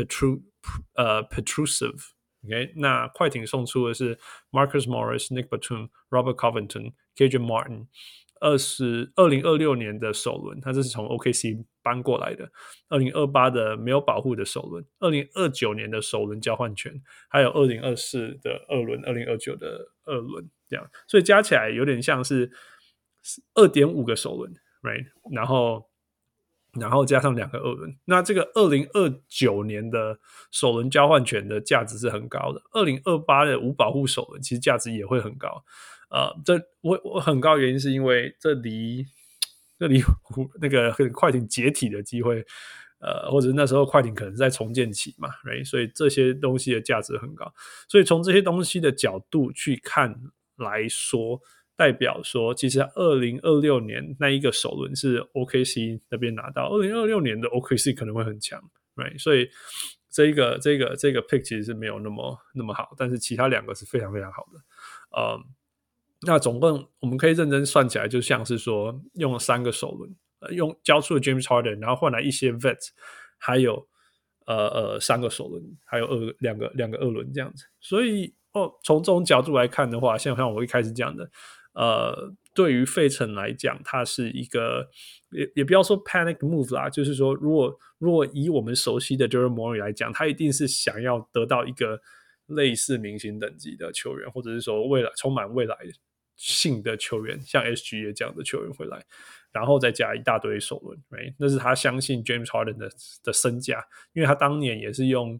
Petrusev。Okay, 那快艇送出的是 Marcus Morris、Nick Batum、Robert Covington、KJ Martin。2026年的首輪，他这是從 OKC 搬過來的。2028的沒有保護的首輪，2029年的首輪交換權，還有2024的二輪，2029的二輪，這樣，所以加起來有點像是 2.5 個首輪 ，right？ 然後加上2個二輪，那這個2029年的首輪交換權的價值是很高的。2028的無保護首輪其實價值也會很高。我很高的原因是因為這離那個快艇解體的機會，或者那時候快艇可能在重建期嘛 ，right？ 所以這些東西的價值很高。所以從這些東西的角度去看來說，代表說其實2026年那一個首輪是 OKC 那邊拿到，2026年的 OKC 可能會很強 ，right？ 所以這個 pick 其實是沒有那麼好，但是其他2個是非常非常好的。那總共我們可以認真算起來，就像是說用了3個首輪，用交出了 James Harden， 然後換來一些 vets， 還有3個首輪，還有兩個二輪這樣子。所以從這種角度來看的話，像我一開始講的，對於費城來講，它是一個也不要說 panic move 啦，就是說如果以我們熟悉的 Daryl Morey 來講，他一定是想要得到一個類似明星等級的球員，或者是說充滿未來性的球員，像 SGA 這樣的球員回來，然後再加一大堆首輪， right？ 那是他相信 James Harden 的身價，因為他當年也是用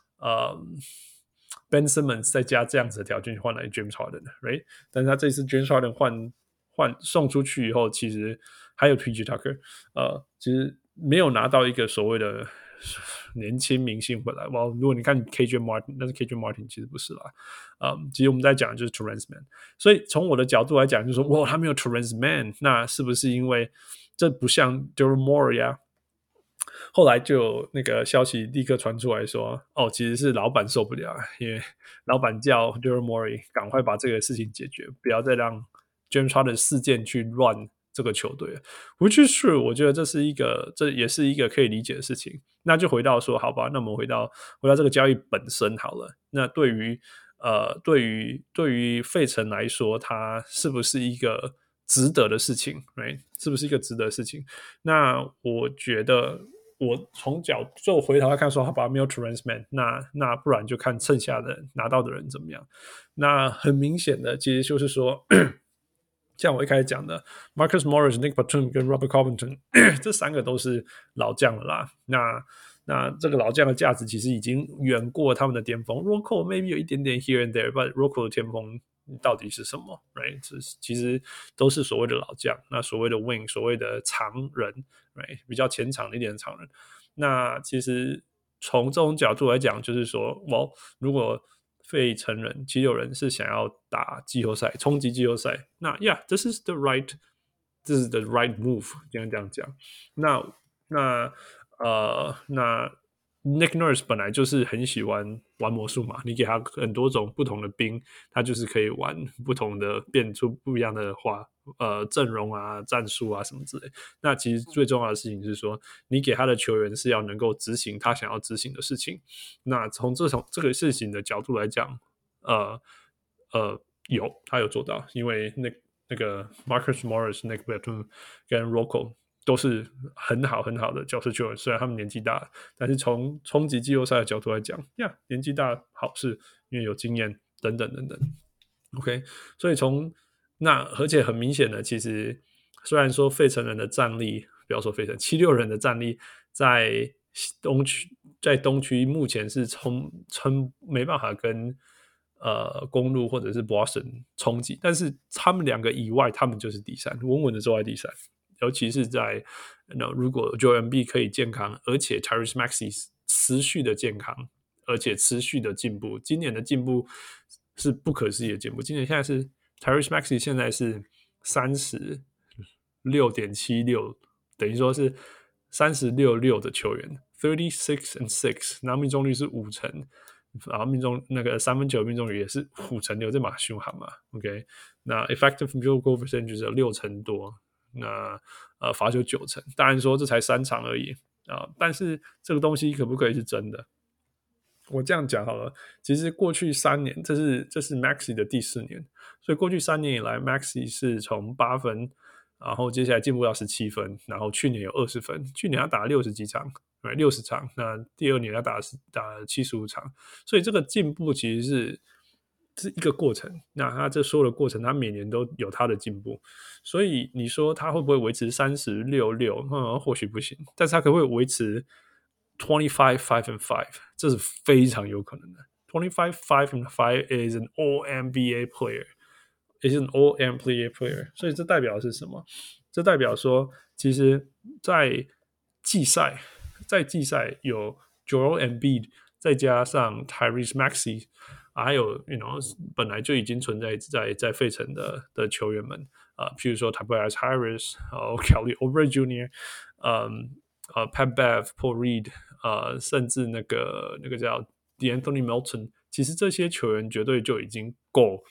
Ben Simmons 再加這樣子的條件換來 James Harden， right？ 但是他這次 James Harden 送出去以後，其實還有 PJ Tucker， 其實沒有拿到一個所謂的年輕明星回來。如果你看 KJ Martin， 但是 KJ Martin 其實不是啦。其實我們在講的就是 Terance Mann。所以從我的角度來講，就是說他沒有 Terance Mann， 那是不是因為這不像 Daryl Morey 啊？後來就有那個消息立刻傳出來說，其實是老闆受不了，因為老闆叫 Daryl Morey 趕快把這個事情解決，不要再讓 James Harden 事件去亂這個球隊。Which is true， 我覺得這也是一個可以理解的事情。那就回到說，好吧，那我們回到這個交易本身好了。那對於費城來說，它是不是一個值得的事情 ，right？ 是不是一個值得的事情？那我覺得，我就回头来看說，好吧，沒有 Terance Mann， 那不然就看剩下的拿到的人怎麼樣。那很明顯的，其實就是說，像我一開始講的 ，Marcus Morris、Nick Batum 跟 Robert Covington 這3個都是老將了啦。那這個老將的價值其實已經遠過他們的巔峰。Rocco maybe 有一點點 here and there，but Rocco 的巔峰到底是什麼 ？Right？ 其實都是所謂的老將，那所謂的 wing， 所謂的長人 ，Right？ 比較前場一點的長人。那其實從這種角度來講，就是說，如果費城人、76人是想要打季後賽、衝擊季後賽，那 this is the right move， 這樣講。那Nick Nurse 本來就是很喜歡玩魔術嘛，你給他很多種不同的兵，他就是可以玩不同的，變出不一樣的陣容啊、戰術啊什麼之類。那其實最重要的事情是說，你給他的球員是要能夠執行他想要執行的事情。那從這個事情的角度來講，他有做到，因為那個 Marcus Morris、Nick Batum 跟 Rocco 都是很好的角色球員，虽然他們年紀大了，但是從衝擊季後賽的角度來講，年紀大好事，因為有經驗等等。OK， 所以而且很明顯的，其實雖然說費城人的戰力，不要說費城76人的戰力在東區目前是沒辦法跟公鹿或者是 Boston 衝擊，但是他們兩個以外，他們就是第三，穩穩的坐在第三。尤其是在如果 Joel Embiid 可以健康，而且 Tyrese Maxey 持續的健康，而且持續的进步，今年的进步是不可思議的进步。今年现在是 Tyrese Maxey 现在是 36.76， 等于说是 36-6 的球员， 36-6， 然后命中率是50%，然後那個三分球命中率也是5.6%，這馬兇悍嘛 OK， 那 effective field goal percentage 有60%多，那罰球90%，當然說這才3場而已但是這個東西可不可以是真的？我這樣講好了，其實過去3年，這是 Maxey 的第4年，所以過去3年以來 Maxey 是從8分，然後接下來進步到17分，然後去年有20分，去年他打了60幾場，60場，那第2年他打了75場，所以這個進步其實是一個過程，那他這所有的過程，他每年都有他的進步，所以你說他會不會維持36-6？或許不行，但是他可不可以維持25-5-5？這是非常有可能的。25-5-5 is an All-NBA player，is an All-NBA player。所以這代表的是什麼？這代表說，其實在季賽有 Joel Embiid， 再加上 Tyrese Maxey， 還有本來就已經存在在費城的球員們譬如說 Tobias Harris、Kelly Oubre Jr.、Pat Bev、Paul Reed，甚至那個叫 DeAnthony Melton， 其實這些球員絕對已經夠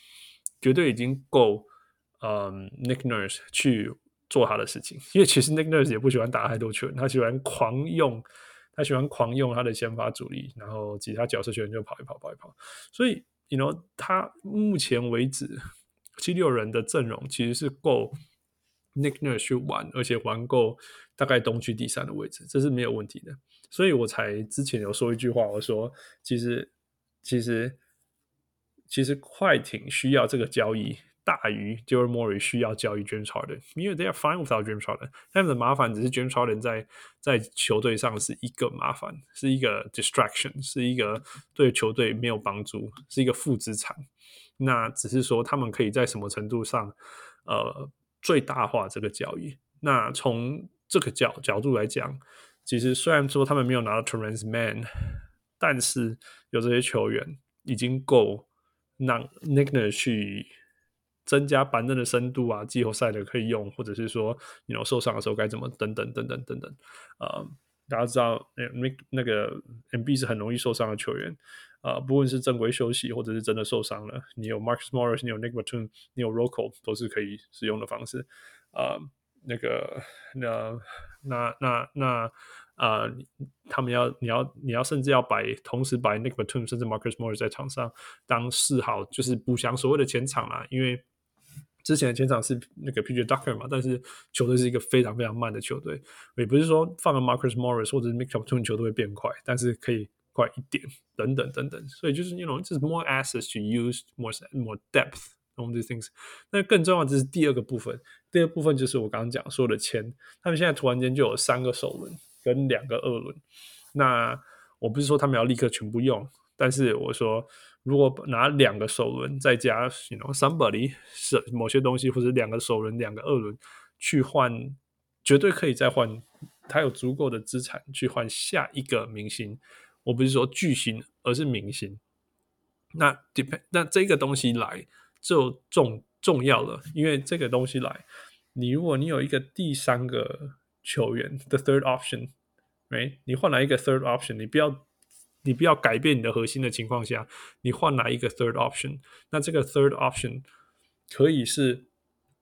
Nick Nurse 去做他的事情，因為其實 Nick Nurse 也不喜歡打太多球員，他喜歡狂用他的先發主力，然後其他角色球員就跑一跑，所以他目前為止76人的陣容其實是夠 Nick Nurse 去玩，而且玩夠大概東區第3的位置，這是沒有問題的。所以我才之前有說一句話，我說其實快艇需要這個交易大於 Daryl Morey 需要交易 James Harden， 因為 they are fine without James Harden， 他們的麻煩只是 James Harden 在球隊上是一個麻煩，是一個 distraction， 是一個對球隊沒有幫助，是一個負資產。那只是說他們可以在什麼程度上最大化這個交易。那從這個角度來講，其實雖然說他們沒有拿到 Terrence Mann， 但是有這些球員已經夠讓 Nick Nurse 去增加板凳的深度啊，季後賽的可以用，或者是說受傷的時候該怎麼等等。大家知道那個 Embiid 是很容易受傷的球員不論是正規休息或者是真的受傷了，你有 Marcus Morris， 你有 Nick Batum， 你有 Rocco 都是可以使用的方式他們你要甚至要同時擺 Nick Batum 甚至 Marcus Morris 在場上當4號，就是補強所謂的前場啦，因為之前的前場是那個 PJ Tucker 嘛，但是球隊是一個非常非常慢的球隊，也不是說放了 Marcus Morris 或者是 Nick Batum 球隊會變快，但是可以快一點等等，所以就是就是 more assets to use more depth on these things。 那更重要的是第二個部分就是我剛剛講說的簽，他們現在突然間就有3個首輪跟2個二輪，那我不是說他們要立刻全部用，但是我說如果拿2個首輪再加somebody 某些東西，或者2個首輪2個二輪去換，絕對可以再換，他有足夠的資產去換下一個明星，我不是說巨星而是明星。那這個東西來就重要了，因為這個東西來，如果你有一個第3個球員的 third option， right？ 你換來一個 third option， 你不要改變你的核心的情況下，你換來一個 third option， 那這個 third option 可以是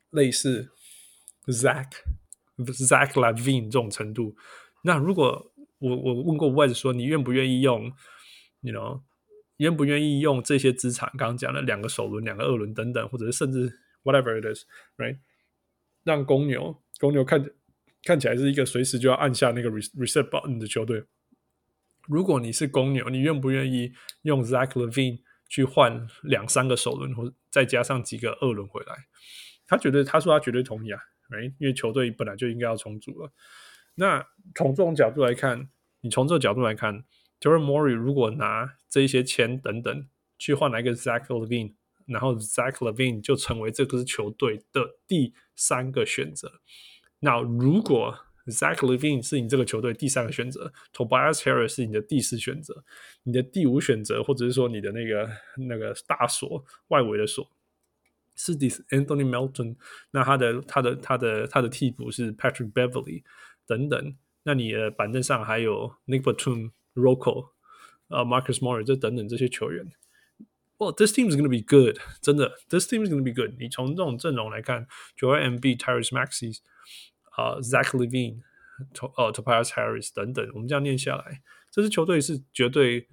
類似 Zach LaVine 這種程度。那如果我問過 Wes 說，你願不願意用 願不願意用這些資產，剛剛講的2個首輪、2個二輪等等，或者是甚至 whatever it is， right？ 讓公牛看起來是一個隨時就要按下那個 reset button 的球隊。如果你是公牛，你願不願意用 Zach LaVine 去換2-3個首輪，或再加上幾個二輪回來？他說他絕對同意啊， right？ 因為球隊本來就應該要重組了。那從這種角度來看，你從這個角度來看 Daryl Morey 如果拿這一些錢等等去換來一個 Zach LaVine， 然後 Zach LaVine 就成為這支球隊的第3個選擇。那如果 Zach LaVine 是你這個球隊第3個選擇， Tobias Harris 是你的第4選擇，你的第5選擇，或者是說你的那個大鎖外圍的鎖是 Anthony Melton， 那他的替補是 Patrick Beverley 等等，那你的板凳上還有 Nick Batum、Rocco、Marcus Morris 這等等這些球員。Well, this team is going to be good， 真的 ，this team is going to be good。你從這種陣容來看 ，Joel Embiid、Tyrese Maxey、Zach LaVine、Tobias Harris 等等，我們這樣念下來，這支球隊是絕對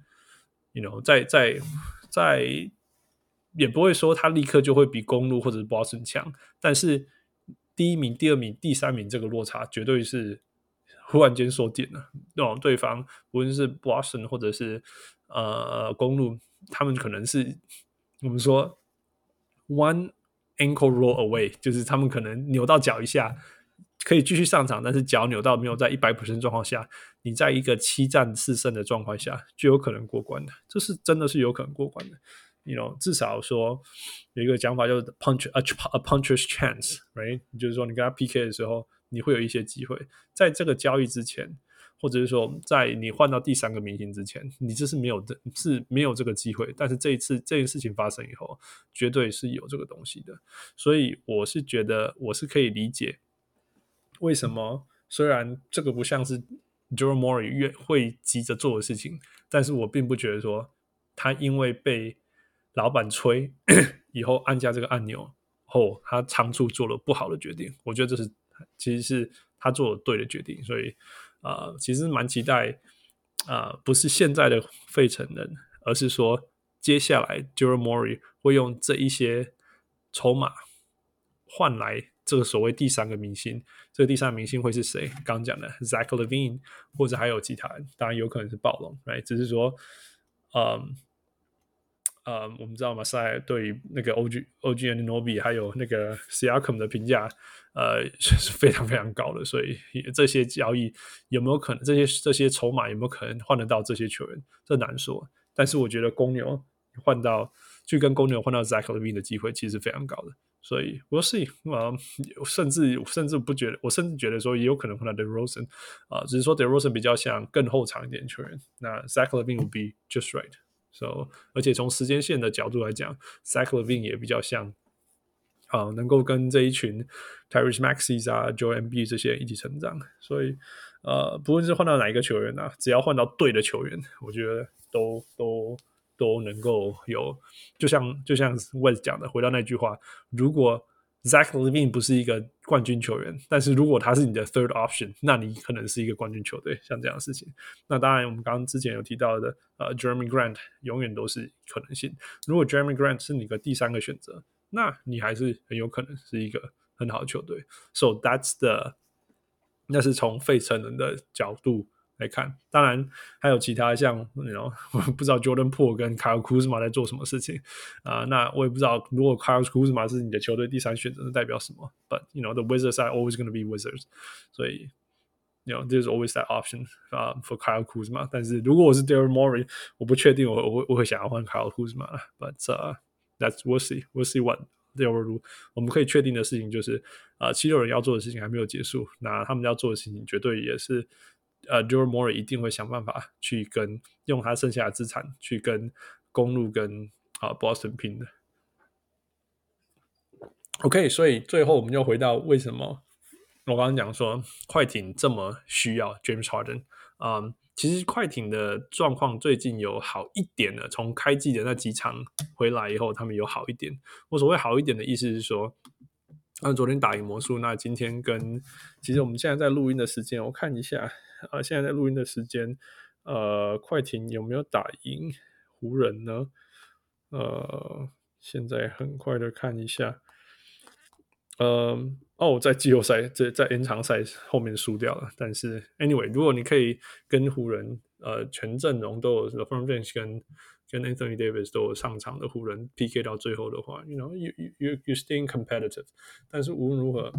在也不會說他立刻就會比公鹿或者是 Boston 強，但是第1名、第2名、第3名這個落差絕對是忽然間縮減了。對方無論是 Boston 或者是公鹿，他們可能是我們說 one ankle roll away， 就是他們可能扭到腳一下可以繼續上場，但是腳扭到沒有在 100% 狀況下，你在一個7戰4勝的狀況下就有可能過關的，這是真的是有可能過關的。至少說有一個講法叫做 a puncher's chance， right？ 就是說你跟他 PK 的時候你會有一些機會，在這個交易之前，或者是說在你換到第3個明星之前，你这是没有這個機會，但是這件事情發生以後絕對是有這個東西的。所以我是覺得我是可以理解為什麼雖然這個不像是 Daryl Morey 會急着做的事情，但是我並不覺得說他因為被老闆吹以後按下這個按鈕後他倉促做了不好的決定，我覺得其實是他做了對的決定。所以其實蠻期待不是現在的費城人，而是說接下來 Daryl Morey 會用這一些籌碼換來這個所謂第3個明星。這個第3個明星會是誰？剛講的 Zach LaVine 或者還有其他人，當然有可能是暴龍， right？ 只是說我們知道馬賽對於那個 OG Anunoby 還有那個 Siakam 的評價是非常非常高的，所以這些交易有沒有可能，這些籌碼有沒有可能換得到這些球員，這難說。但是我覺得公牛去跟公牛換到 Zach LaVine 的機會其實非常高的，所以 we'll see。甚至不覺得，我甚至覺得說也有可能換到 DeRozan 只是說 DeRozan 比較像更後場一點的球員，那 Zach LaVine will be just right。So, 而且從時間線的角度來講 Zach LaVine 也比較像能夠跟這一群 Tyrese Maxey Joel Embiid 這些人一起成長，所以不論是換到哪一個球員只要換到對的球員，我覺得都能夠有，就像 Wes 講的，回到那句話，如果Zach LaVine 不是一個冠軍球員，但是如果他是你的 third option， 那你可能是一個冠軍球隊，像這樣的事情。那當然我們剛剛之前有提到的Jeremy Grant 永遠都是可能性。如果 Jeremy Grant 是你的第3個選擇，那你還是很有可能是一個很好的球隊。So那是從費城人的角度來看，當然還有其他像我不知道 Jordan Poole 跟 Kyle Kuzma 在做什麼事情那我也不知道如果 Kyle Kuzma 是你的球隊第3選擇，那代表什麼 But the Wizards are always going to be Wizards， 所以there's always that option for Kyle Kuzma。 但是如果我是 Daryl Morey， 我不確定我會想要換 Kyle Kuzma But we'll see what they will do。 我們可以確定的事情就是七六人要做的事情還沒有結束，那他們要做的事情絕對也是Daryl Morey 一定會想辦法去用他剩下的資產去跟公鹿跟Boston 拼的。OK， 所以最後我們又回到為什麼我剛剛講說快艇這麼需要 James Harden。其實快艇的狀況最近有好一點了，從開季的那幾場回來以後他們有好一點。我所謂好一點的意思是說昨天打贏魔術，那今天其實我們現在在錄音的時間，我看一下現在在錄音的時間，快艇有沒有打贏湖人呢？現在很快的看一下，在季後賽在延長賽後面輸掉了，但是 anyway， 如果你可以跟湖人全陣容都有 LeBron James 跟 Anthony Davis 都有上場的湖人 PK 到最後的話 you staying competitive， 但是無論如何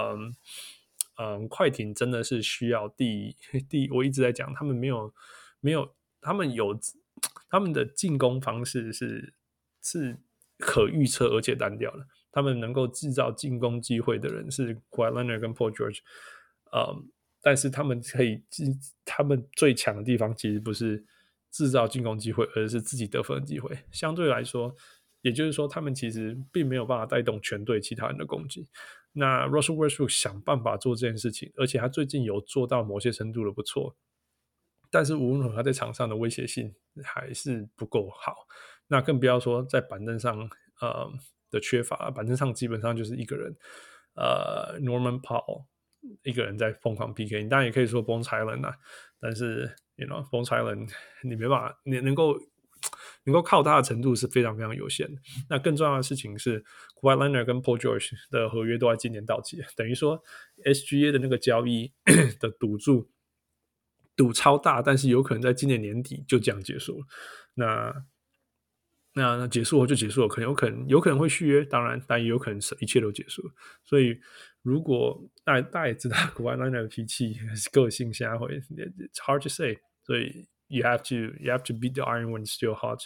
快艇真的是需要我一直在講他們沒有他們的進攻方式是可預測而且单調的，他們能夠制造進攻機會的人是 Kawhi Leonard 跟 Paul George， 但是他們最強的地方其實不是制造進攻機會，而是自己得分的机会。相对來說，也就是說，他們其實並沒有辦法帶動全隊其他人的攻擊。那 Russell Westbrook 想辦法做這件事情，而且他最近有做到某些程度的不錯，但是无論如何他在場上的威脅性還是不夠好。那更不要說在板凳上的缺乏，板凳上基本上就是一個人Norman Powell 一個人在瘋狂 PK， 你當然也可以說 Bones Hyland 啊，但是 Bones Hyland 你沒辦法，你能夠靠他的程度是非常非常有限的。那更重要的事情是 Kawhi Leonard 跟 Paul George 的合約都在今年到期，等於說 SGA 的那個交易的賭超大，但是有可能在今年年底就這樣結束了。那結束後就結束了，有可能會續約，當然，但也有可能一切都結束了。所以，如果大家也知道 Kawhi Leonard 的脾气、個性，現在會 it's hard to say。所以 you have to beat the iron when it's still hot。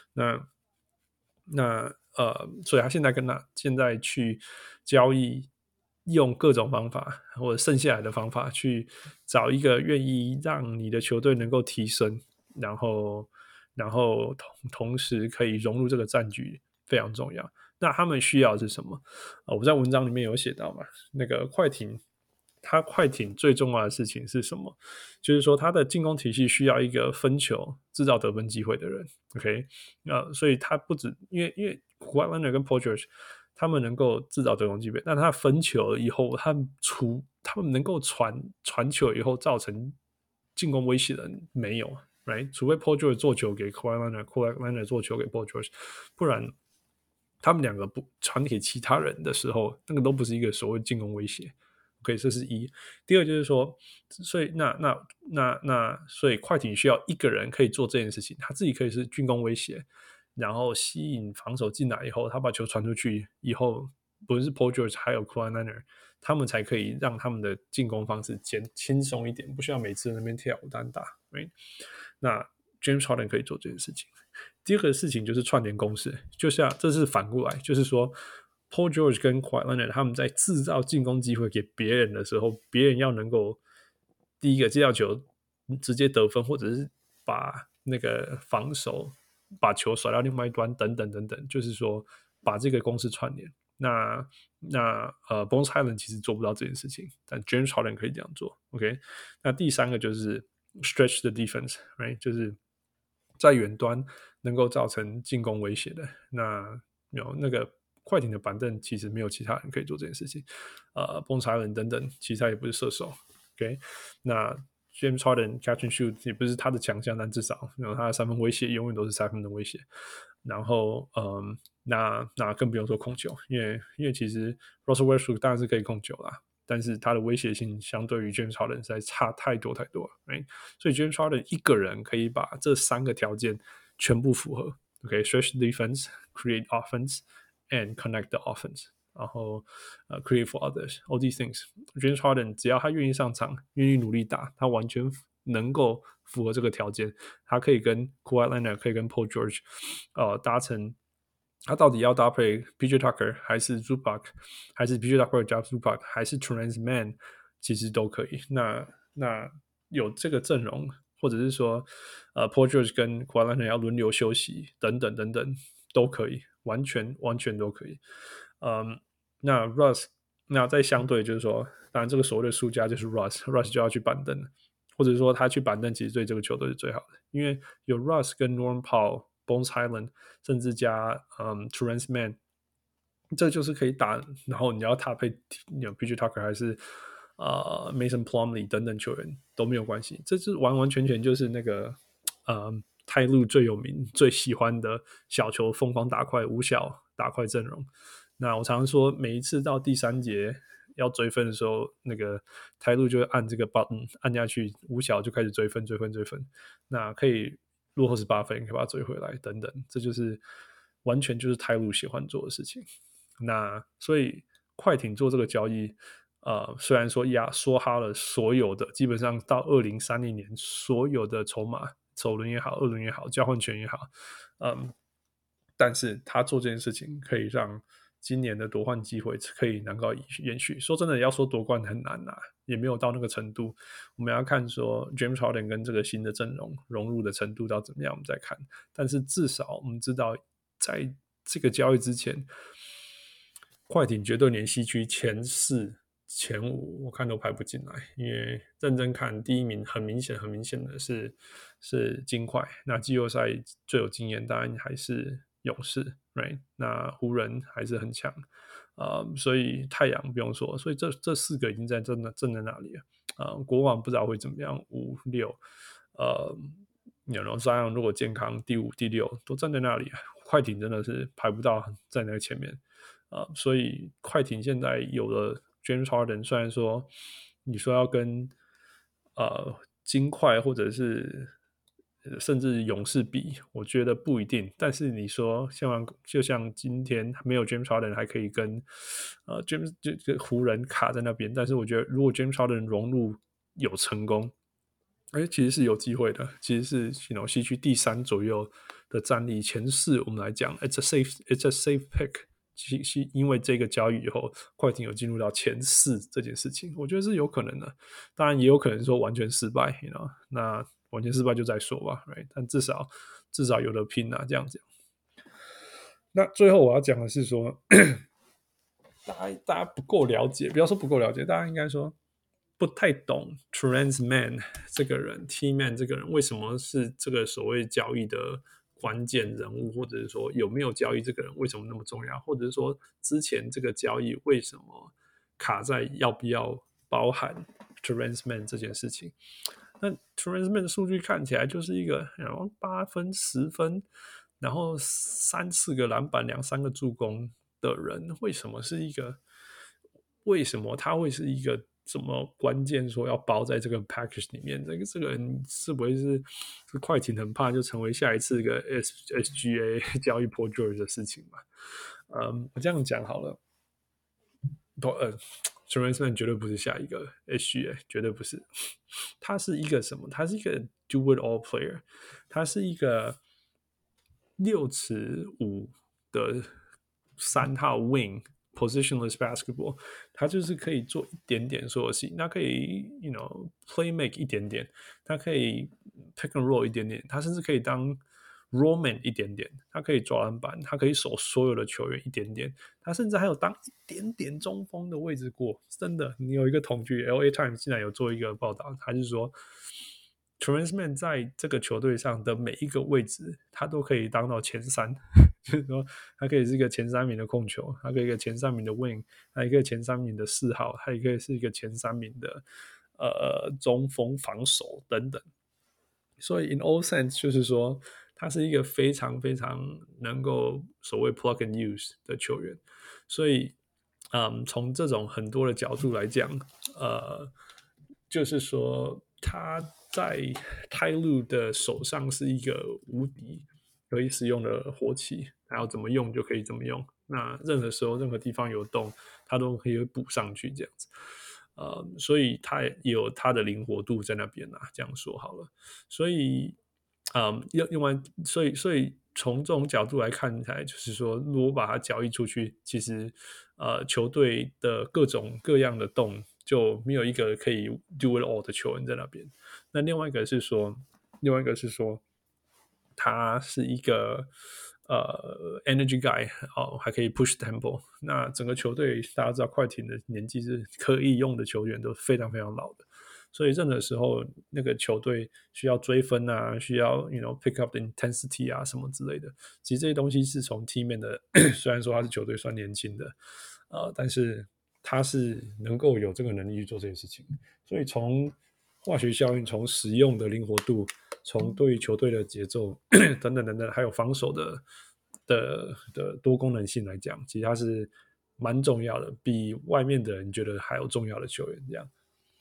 所以他現在去交易，用各種方法或者剩下來的方法去找一個願意讓你的球隊能夠提升，然后同時可以融入這個戰局非常重要。那他們需要的是什麼？我在文章裡面有寫到嘛，那個快艇最重要的事情是什麼？就是說他的進攻體系需要一個分球制造得分機會的人。OK， 所以他不止因為 Kawhi Leonard 跟 Paul George 他們能夠制造得分機會，但他分球以後，他們能夠傳球以後造成進攻威脅的人沒有。Right? 除非 Paul George 做球給 Kawhi Leonard 做球給 Paul George， 不然他們兩個不傳給其他人的時候，那個都不是一個所謂進攻威脅。OK， 這是一。第二就是說，所以快艇需要一個人可以做這件事情，他自己可以是進攻威脅，然後吸引防守進來以後，他把球傳出去以後，不論是 Paul George 還有 Kawhi Leonard， 他們才可以讓他們的進攻方式輕鬆一點，不需要每次在那邊跳舞單打。Right？那 James Harden 可以做這件事情。第二個事情就是串聯攻勢，這是反過來，就是說 Paul George 跟 Kawhi Leonard 他們在制造進攻機會給別人的時候，別人要能夠第一個接到球直接得分，或者是把那個防守把球甩到另外一端等等等等，就是說把這個公式串聯。那Bones Hyland 其實做不到這件事情，但 James Harden 可以這樣做。OK， 那第三個就是stretch the defense， right？ 就是在遠端能夠造成進攻威脅的。那個快艇的板凳其實沒有其他人可以做這件事情。Bones Hyland 等等，其實他也不是射手。OK， 那 James Harden catch and shoot 也不是他的強項，但至少他的三分威脅永遠都是三分的威脅。然後那更不用說控球，因為其實 Russell Westbrook 當然是可以控球啦，但是他的威脅性相對於 James Harden 實在差太多了。Right？ 所以 James Harden 一個人可以把這三個條件全部符合。OK，stretch the defense, create offense, and connect the offense。然後create for others, all these things. James Harden 只要他願意上場，願意努力打，他完全能夠符合這個條件。他可以跟 Kawhi Leonard 可以跟 Paul George 達成。他到底要搭配 PJ Tucker 還是 Zubac， 還是 PJ Tucker 加 Zubac， 還是 Terance Mann， 其實都可以。那有這個陣容，或者是說Paul George 跟 Kawhi Leonard 要輪流休息等等等等，都可以，完全都可以。那 Russ， 那再相對就是說，當然這個所謂的輸家就是 Russ 就要去板凳了，或者說他去板凳其實對這個球隊是最好的，因為有 Russ 跟 Norman Powell、Bones Hyland， 甚至加Terance Mann 這就是可以打，然後你要搭配PJ Tucker 還是Mason Plumlee 等等球員都沒有關係，這是完完全全就是那個泰路最有名最喜歡的小球瘋狂打快五小打快陣容。那我常常說，每一次到第3節要追分的時候，那個泰路就會按這個 button 按下去，五小就開始追分。那可以落後18分，可以把它追回來等等，這就是完全就是泰路喜歡做的事情。那所以快艇做這個交易，雖然說壓縮哈了所有的，基本上到2030年所有的籌碼，首輪也好，二輪也好，交換權也好，但是他做這件事情可以讓今年的夺冠機會可以能夠延續。說真的，要說奪冠很難啊，也沒有到那個程度。我們要看說 James Harden 跟這個新的陣容融入的程度到怎麼樣，我們再看。但是至少我們知道，在這個交易之前，快艇絕對連西區前4、前5我看都排不進來，因為認真看第一名很明顯的是金塊，那季後賽最有經驗當然還是勇士 right？ 那湖人還是很強，所以太陽不用說，所以這4個已經在正在那裡了，國王不知道會怎麼樣，5、6Zion 如果健康第5、第6都站在那裡，快艇真的是排不到在那個前面，所以快艇現在有了 James Harden， 雖然說你說要跟金塊或者是甚至勇士比，我覺得不一定。但是你說就像今天沒有 James Harden 還可以跟湖人卡在那邊，但是我覺得如果 James Harden 融入有成功，其實是有機會的。其實是西区第3左右的戰力，前4我們來講 it's a safe pick。因為這個交易以後，快艇有進入到前4這件事情，我覺得是有可能的。當然也有可能說完全失敗，那完全失敗就再說吧 ，right？ 但至少有得拼啊，這樣子。那最後我要講的是說，大家不夠了解，不要說不夠了解，大家應該說不太懂 Terance Mann 這個人 ，T-Man 這個人為什麼是這個所謂交易的關鍵人物，或者是說有沒有交易這個人為什麼那麼重要，或者是說之前這個交易為什麼卡在要不要包含 Terance Mann 這件事情。那 Terance Mann 的數據看起來就是一個8分10分然後3、4個籃板2、3個助攻的人，為什麼他會是一个什麼關鍵說要包在這個 package 裡面，這個人是不會是快艇很怕就成為下一次一個 SGA 交易 Paul George 的事情嘛？我這樣講好了，Terance Mann 絕對不是下一個 SGA， 絕對不是。他是一個什麼？他是一個 do it all player， 他是一個6'5" 的3號 wing。Positionless basketball， 他就是可以做一點點所有事情，他可以 play make 一點點，他可以 pick and roll 一點點，他甚至可以當 roll man 一點點，他可以抓籃板，他可以守所有的球員一點點，他甚至還有當一點點中鋒的位置過。真的，你有一個統計 LA Times 竟然有做一個報道，他是說 Terance Mann 在這個球隊上的每一個位置他都可以當到前3，就是說他可以是一個前3名的控球，他可以一個前3名的 wing， 他一個前3名的4號，他也可以是一個前3名的中鋒防守等等。所以 in all sense 就是說他是一個非常非常能夠所謂 plug and use 的球員。所以從這種很多的角度來講，就是說他在泰路的手上是一個無敵可以使用的活棋，他要怎麼用就可以怎麼用。那任何時候任何地方有洞他都可以補上去這樣子。所以他也有他的靈活度在那邊啊，這樣說好了。所以所以從這種角度來看起來，就是說如果把它交易出去，其實球隊的各種各樣的洞就沒有一個可以 do it all 的球員在那邊。那另外一個是說他是一個energy guy，還可以 push tempo。那整個球隊大家知道快艇的年紀是可以用的球員都非常非常老的， 所以任何時候那個球隊需要追分啊，需要 pick up the intensity 啊什麼之類的，其實這些東西是從 team 面的雖然說他是球隊算年輕的但是他是能夠有這個能力去做這些事情，所以從化學效應，從使用的靈活度，從對於球隊的節奏等等等等，還有防守的多功能性來講，其實他是蠻重要的，比外面的人覺得還有重要的球員這樣。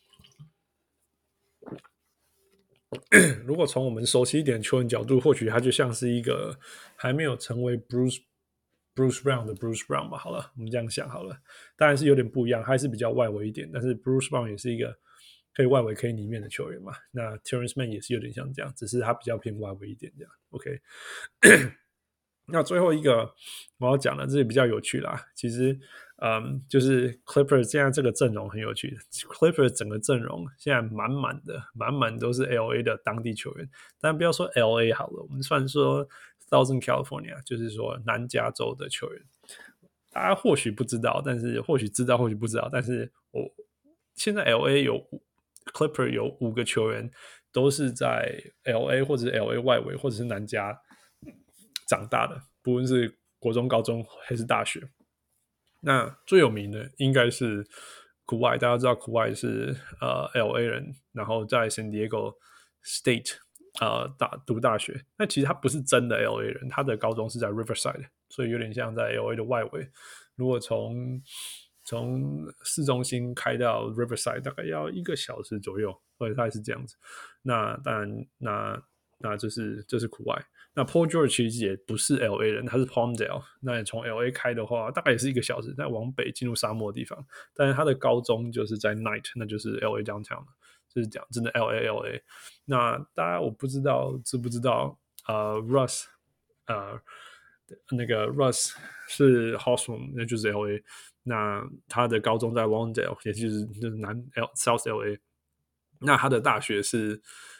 如果從我們熟悉一點的球員角度，或許他就像是一個還沒有成為 Bruce Brown 的 Bruce Brown 吧。好了，我們這樣想好了，當然是有點不一樣，還是比較外圍一點，但是 Bruce Brown 也是一個可以外圍可以裡面的球員嘛。那 Terrence Mann 也是有點像這樣，只是他比較偏外圍一點這樣。OK 那最後一個我要講的，這也比較有趣啦。其實，就是 Clippers 現在這個陣容很有趣。Clippers 整個陣容現在滿滿都是 LA 的當地球員。但不要說 LA 好了，我們算說 Southern California， 就是說南加州的球员。大家或許不知道，但是或許知道，或許不知道。但是現在 LA 有 Clippers 有5個球員都是在 LA 或者是 LA 外圍或者是南加長大的，不論是國中、高中還是大學。那最有名的應該是 Kawhi， 大家知道 Kawhi 是LA 人，然後在 San Diego State 讀大學。那其實他不是真的 LA 人，他的高中是在 Riverside， 所以有點像在 LA 的外圍。如果從市中心開到 Riverside 大概要1個小時左右，或者大概是這樣子。那當然，那这是 Kawhi。那 Paul George 其實也不是 LA 人，他是 Palmdale。那你從 LA 開的話，大概也是1個小时，再往北進入沙漠的地方。但是他的高中就是在 Knight， 那就是 LA downtown， 就是講真的 LA。那大家我不知道知不知道Russ 那個 Russ 是 Hawthorne， 那就是 LA。那他的高中在 Lawndale， 也就是South LA。那他的大學是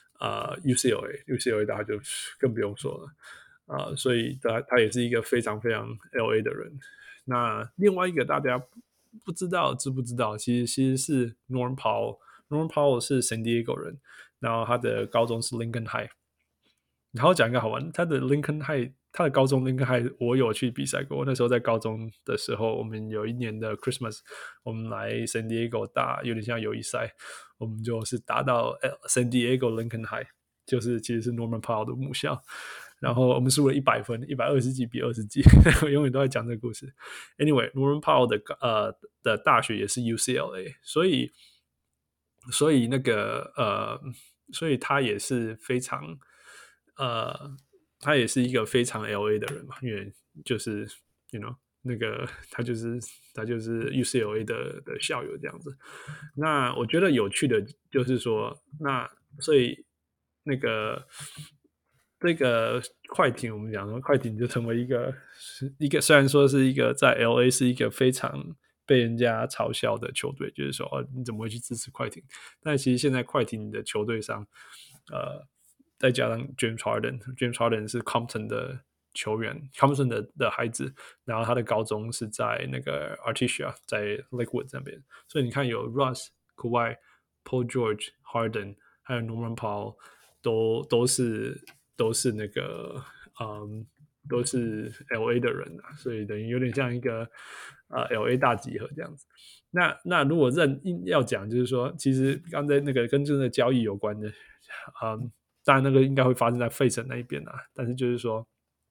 UCLA 大家就更不用說了所以他也是一個非常非常 LA 的人。那另外一個大家不知道知不知道，其實是 Norm Powell 是 San Diego 人，然後他的高中是 Lincoln High。然後講一個好玩，他的 Lincoln High， 他的高中 Lincoln High 我有去比賽過。那時候在高中的時候，我們有一年的 Christmas， 我們來 San Diego 打有點像友谊賽，我們就是打到 San Diego Lincoln High， 就是其實是 Norman Powell 的母校。然後我們輸了100分，120幾比20幾，我永遠都在講這個故事。Anyway， Norman Powell 的大學也是 UCLA， 所以那個所以他也是非常他也是一个非常 LA 的人嘛，因为就是那个他就是 UCLA 的校友這樣子。那我覺得有趣的就是說，那所以那個這個快艇，我們講說快艇就成為一個雖然說是一個在 LA 是一個非常被人家嘲笑的球隊，就是說你怎麼會去支持快艇？但其實現在快艇的球隊上再加上 James Harden 是 Compton 的球員 Compton 的孩子，然後他的高中是在那個 Artesia， 在 Lakewood 那邊。所以你看有 Russ、Kawhi、Paul George、Harden 還有 Norman Powell 都是那個都是 LA 的人啊，所以等於有點像一個LA 大集合這樣子。那如果要講就是說，其實剛才那個跟這個交易有關的當然那個應該會發生在費城那一邊啊，但是就是說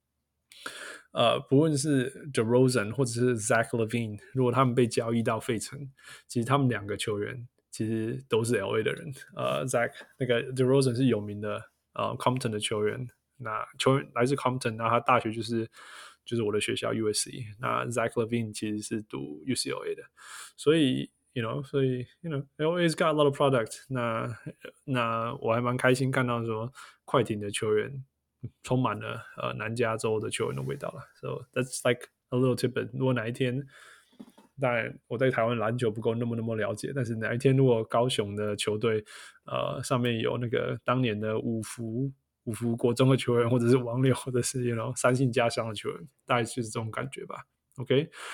不論是 DeRozan 或者是 Zach LaVine， 如果他們被交易到費城，其實他們2個球員其實都是 LA 的人。Zach 那個 DeRozan 是有名的Compton 的球員，那球員來自 Compton， 然後他大學就是我的學校 USC。那 Zach LaVine 其實是讀 UCLA 的，所以LA's got a lot of product。那我還蠻開心看到說快艇的球員充滿了南加州的球員的味道了。So that's like a little tidbit。如果哪一天，當然我在台灣籃球不夠那麼了解，但是哪一天如果高雄的球隊上面有那個當年的五福國中的球員，或者是王六，或者是三信家鄉的球員，大概就是這種感覺吧。OK。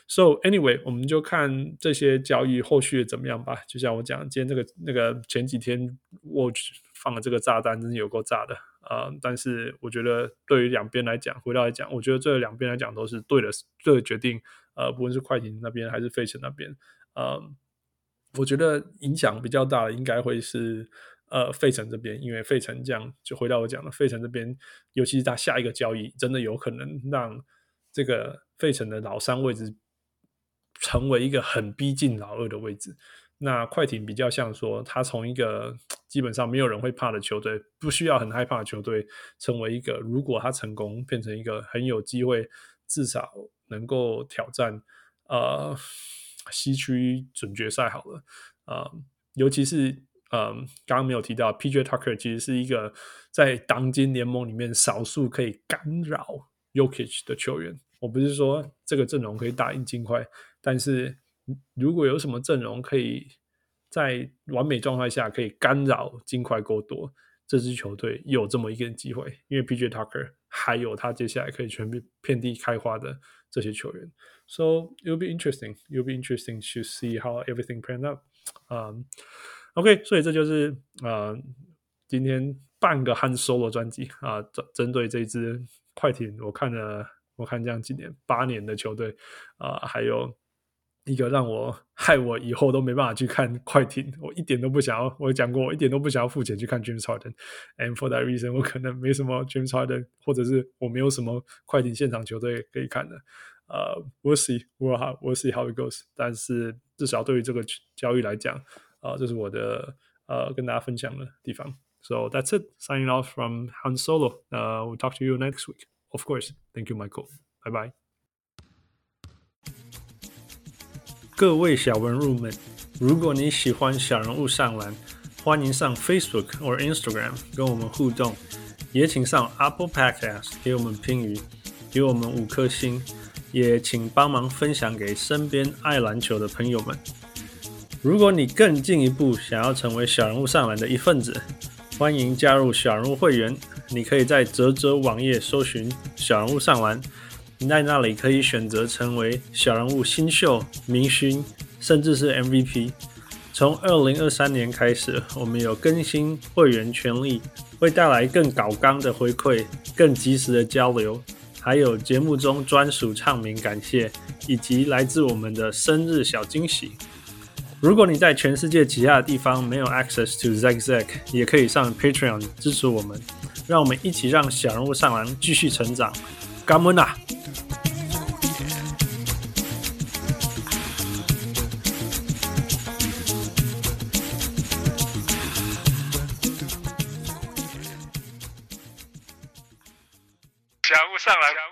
So anyway， 我们就看這些交易後續怎麼樣吧。就像我講，今天那個前幾天 Woj 放了這個炸彈，真是有夠炸的但是我覺得對於兩邊來講，回到來講，我覺得這兩邊來講都是對的決定。不論是快艇那邊還是費城那邊，我覺得影響比較大的應該會是費城這邊，因為費城這樣就回到我講了，費城這邊尤其是他下一個交易，真的有可能讓這個費城的老三位置成為一個很逼近老二的位置。那快艇比較像說，他從一個基本上沒有人會怕的球隊，不需要很害怕的球隊，成為一個如果他成功變成一個很有機會，至少能夠挑戰西區準決賽好了。尤其是剛剛沒有提到 PJ Tucker 其實是一個在當今聯盟裡面少數可以干擾 Jokic 的球員。我不是說這個陣容可以打贏金塊，但是如果有什麼陣容可以在完美狀態下可以干擾金塊夠多，這支球隊有這麼一個機會，因為 PJ Tucker 還有他接下來可以全遍地開花的這些球員。So it'll be interesting. It'll be interesting to see how everything panned out. OK， 所以這就是今天半個Han Solo 專輯針對這支快艇，我看這樣幾年8年的球隊還有一個害我以後都沒辦法去看快艇，我一點都不想要，我講過我一點都不想要付錢去看 James Harden and for that reason 我可能沒什麼 James Harden 或者是我沒有什麼快艇現場球隊可以看的。We'll see how it goes， 但是至少對於這個交易來講這是我的跟大家分享的地方。So that's it, signing off from Han Solo. We'll talk to you next week. Of course. Thank you, Michael. Bye bye. 各位小文入們，如果你喜歡小人物上籃，歡迎上 Facebook 或 Instagram 跟我們互動，也請上 Apple Podcast 給我們評語，給我們5顆星，也請幫忙分享給身邊愛籃球的朋友們。如果你更進一步想要成為小人物上籃的一份子，歡迎加入小人物會員。你可以在嘖嘖網頁搜尋小人物上籃，在那裡可以選擇成為小人物新秀、明星，甚至是 MVP。從2023年開始，我們有更新會員權利，會帶來更高綱的回饋、更及時的交流，還有節目中專屬唱名感謝，以及來自我們的生日小驚喜。如果你在全世界其他的地方沒有 access to Zack， 也可以上 Patreon 支持我們，讓我們一起讓小人物上籃繼續成長。感恩啊！ 小人物上籃。